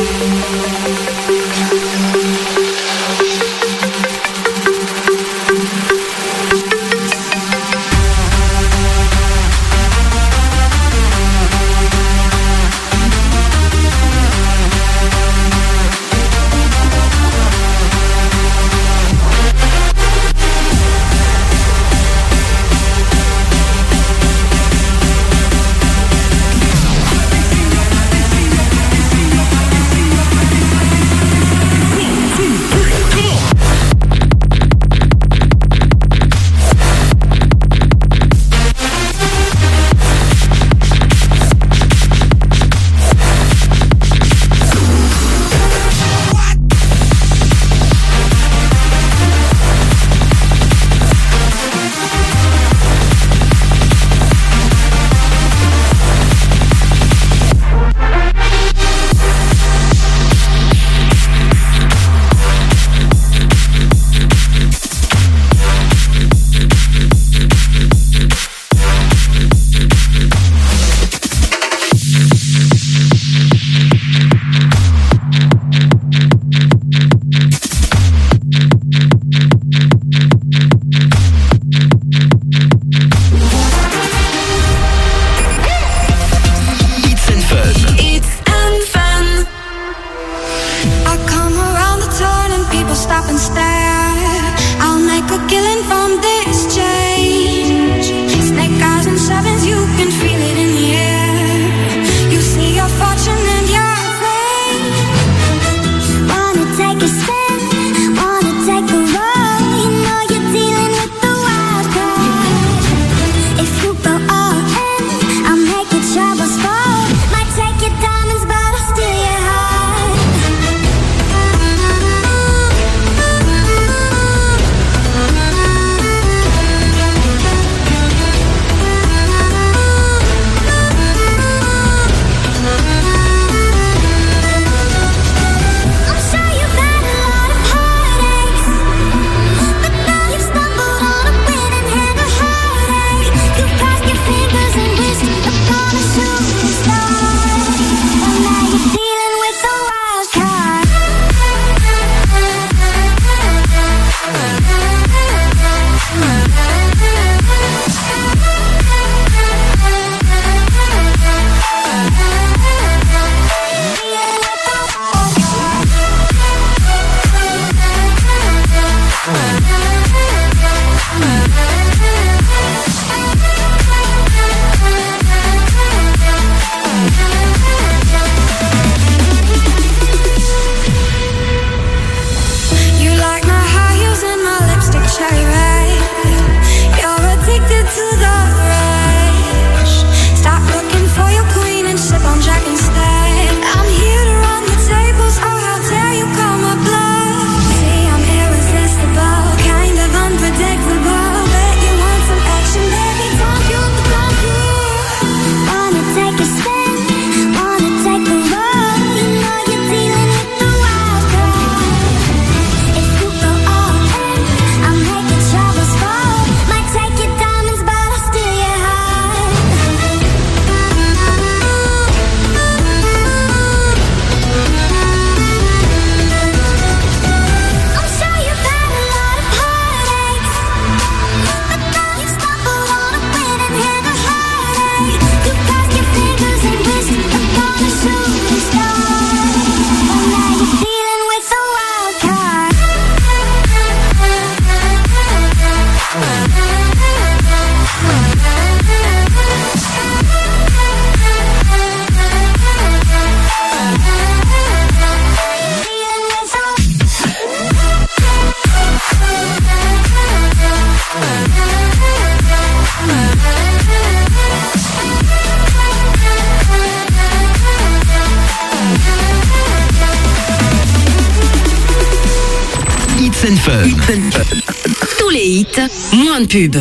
Tous les hits, moins de pub.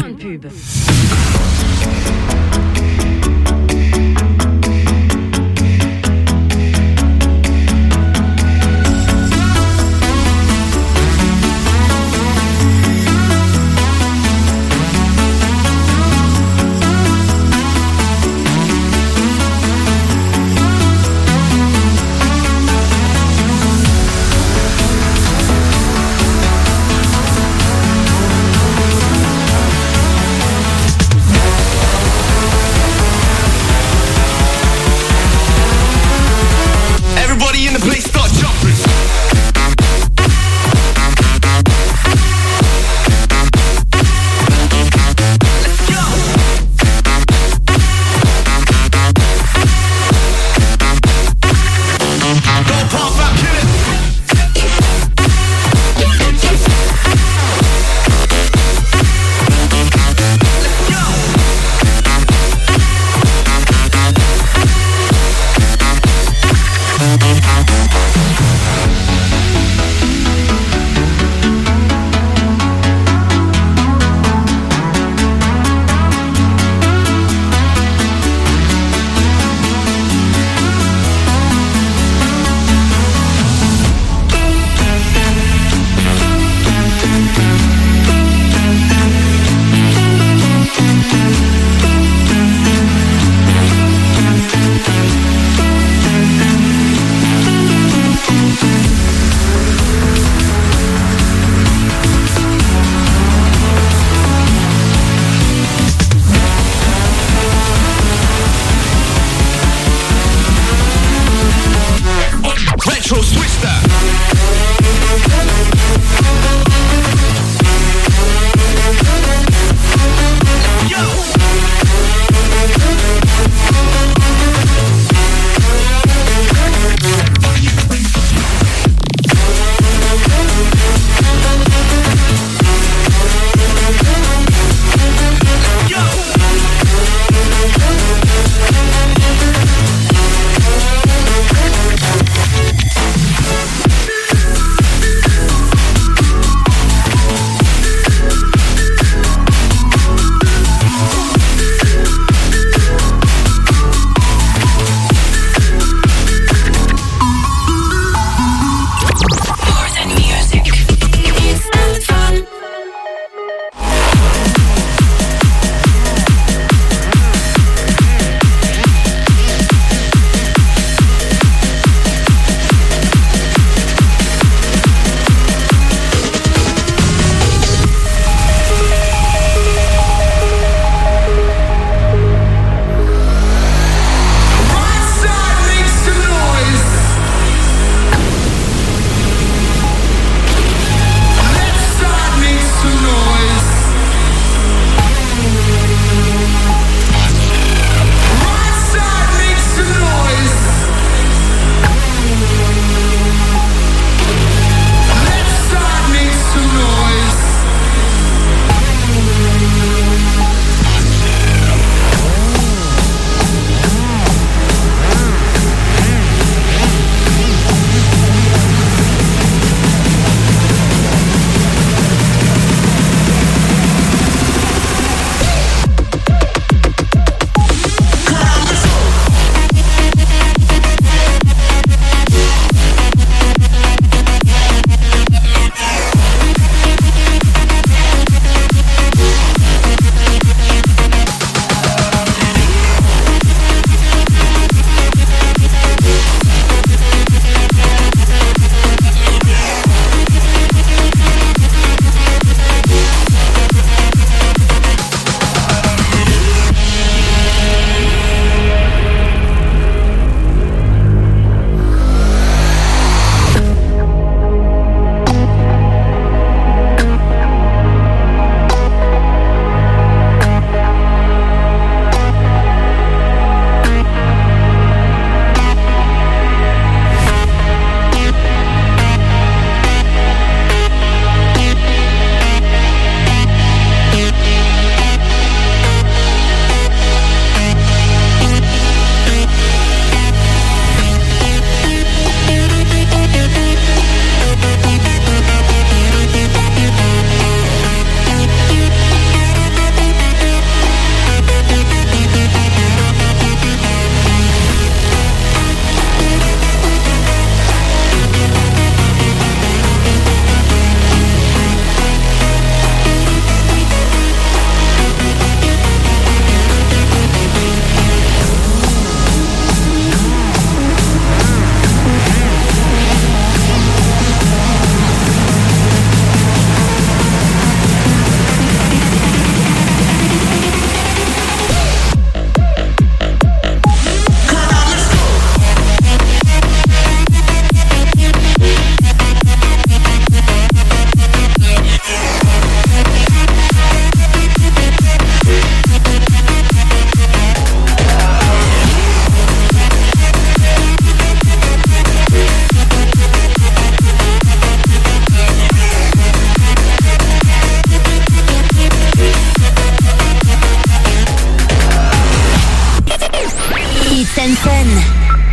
Fun.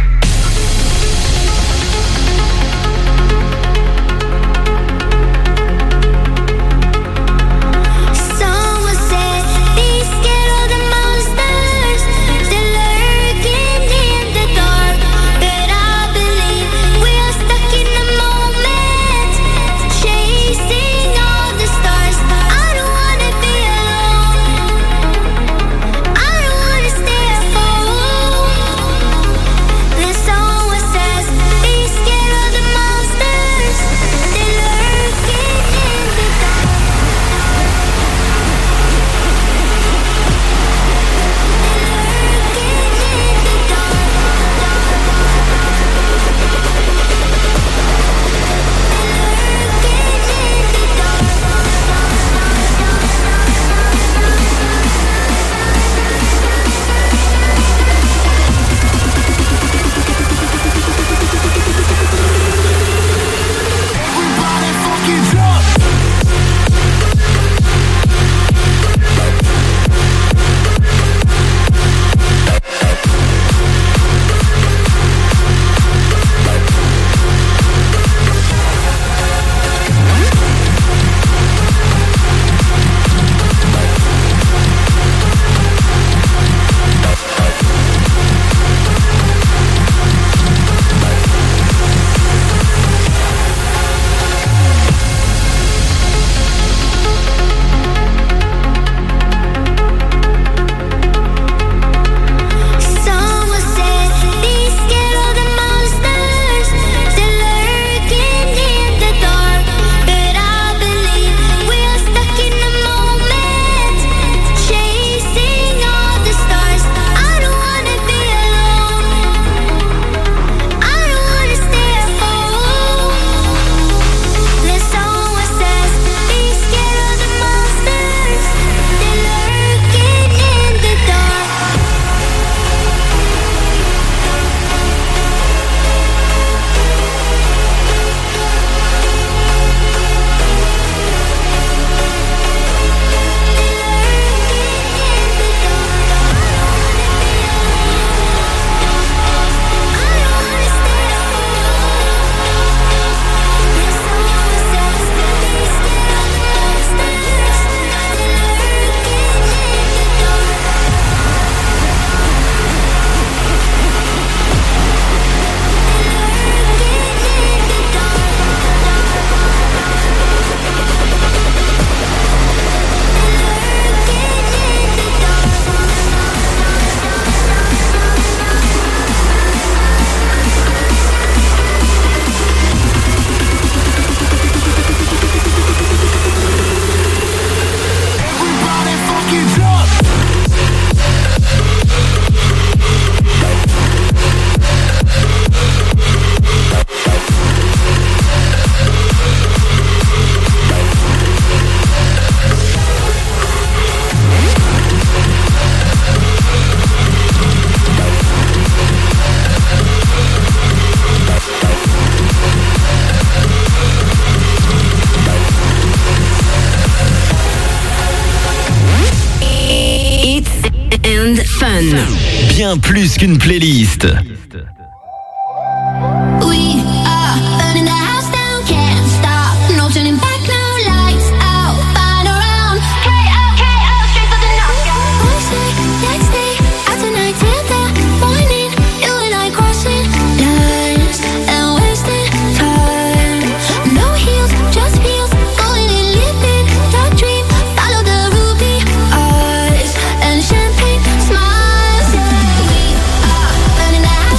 Bien plus qu'une playlist. Smiles, yeah. We are running out.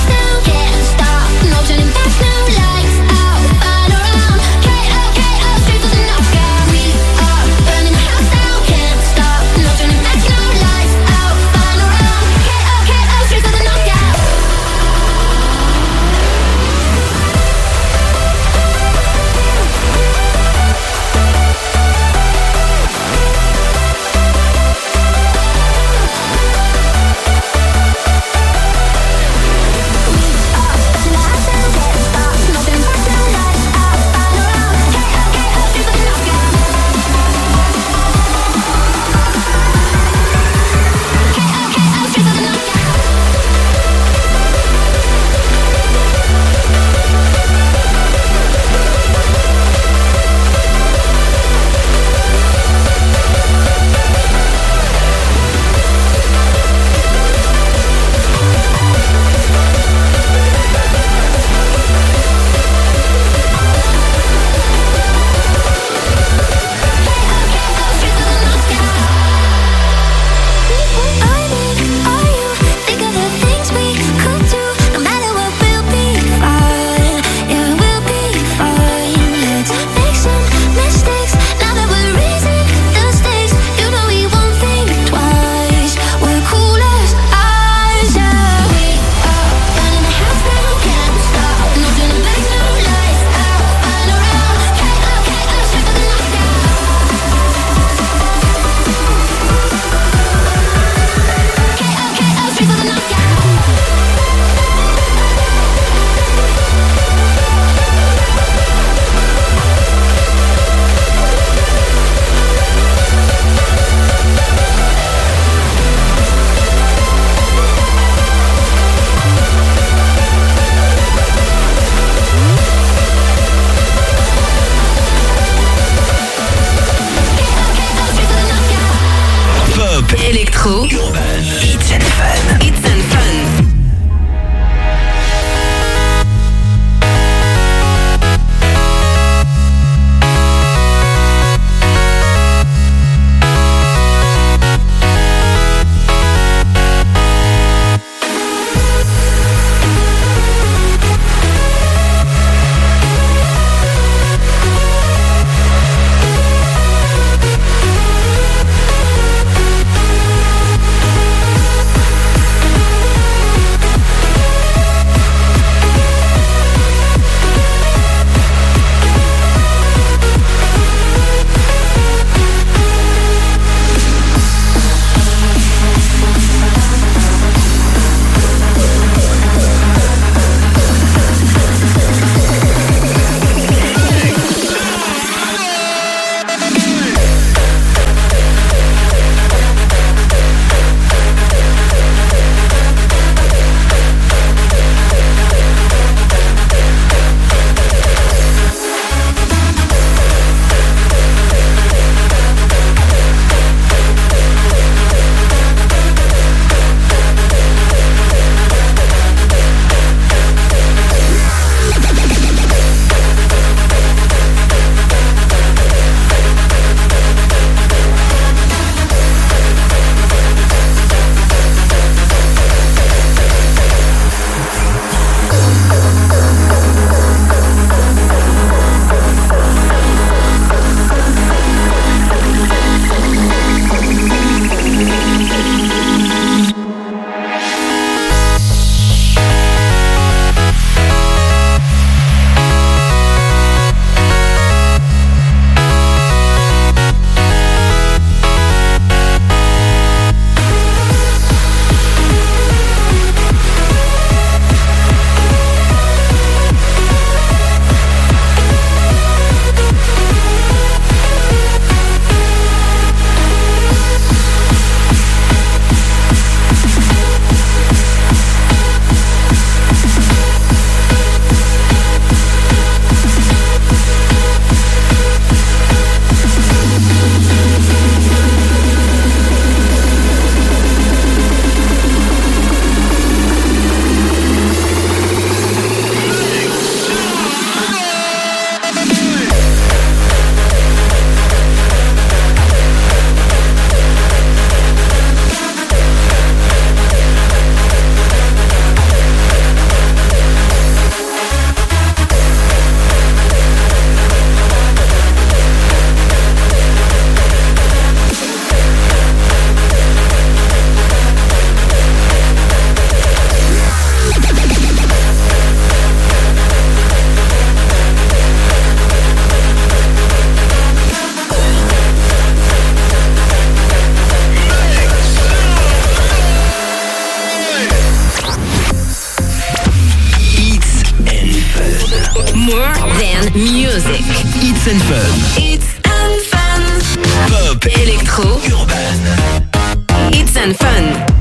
then music. Hits and Fun. Hits and Fun. Pop, Electro. urbaine. Hits and Fun.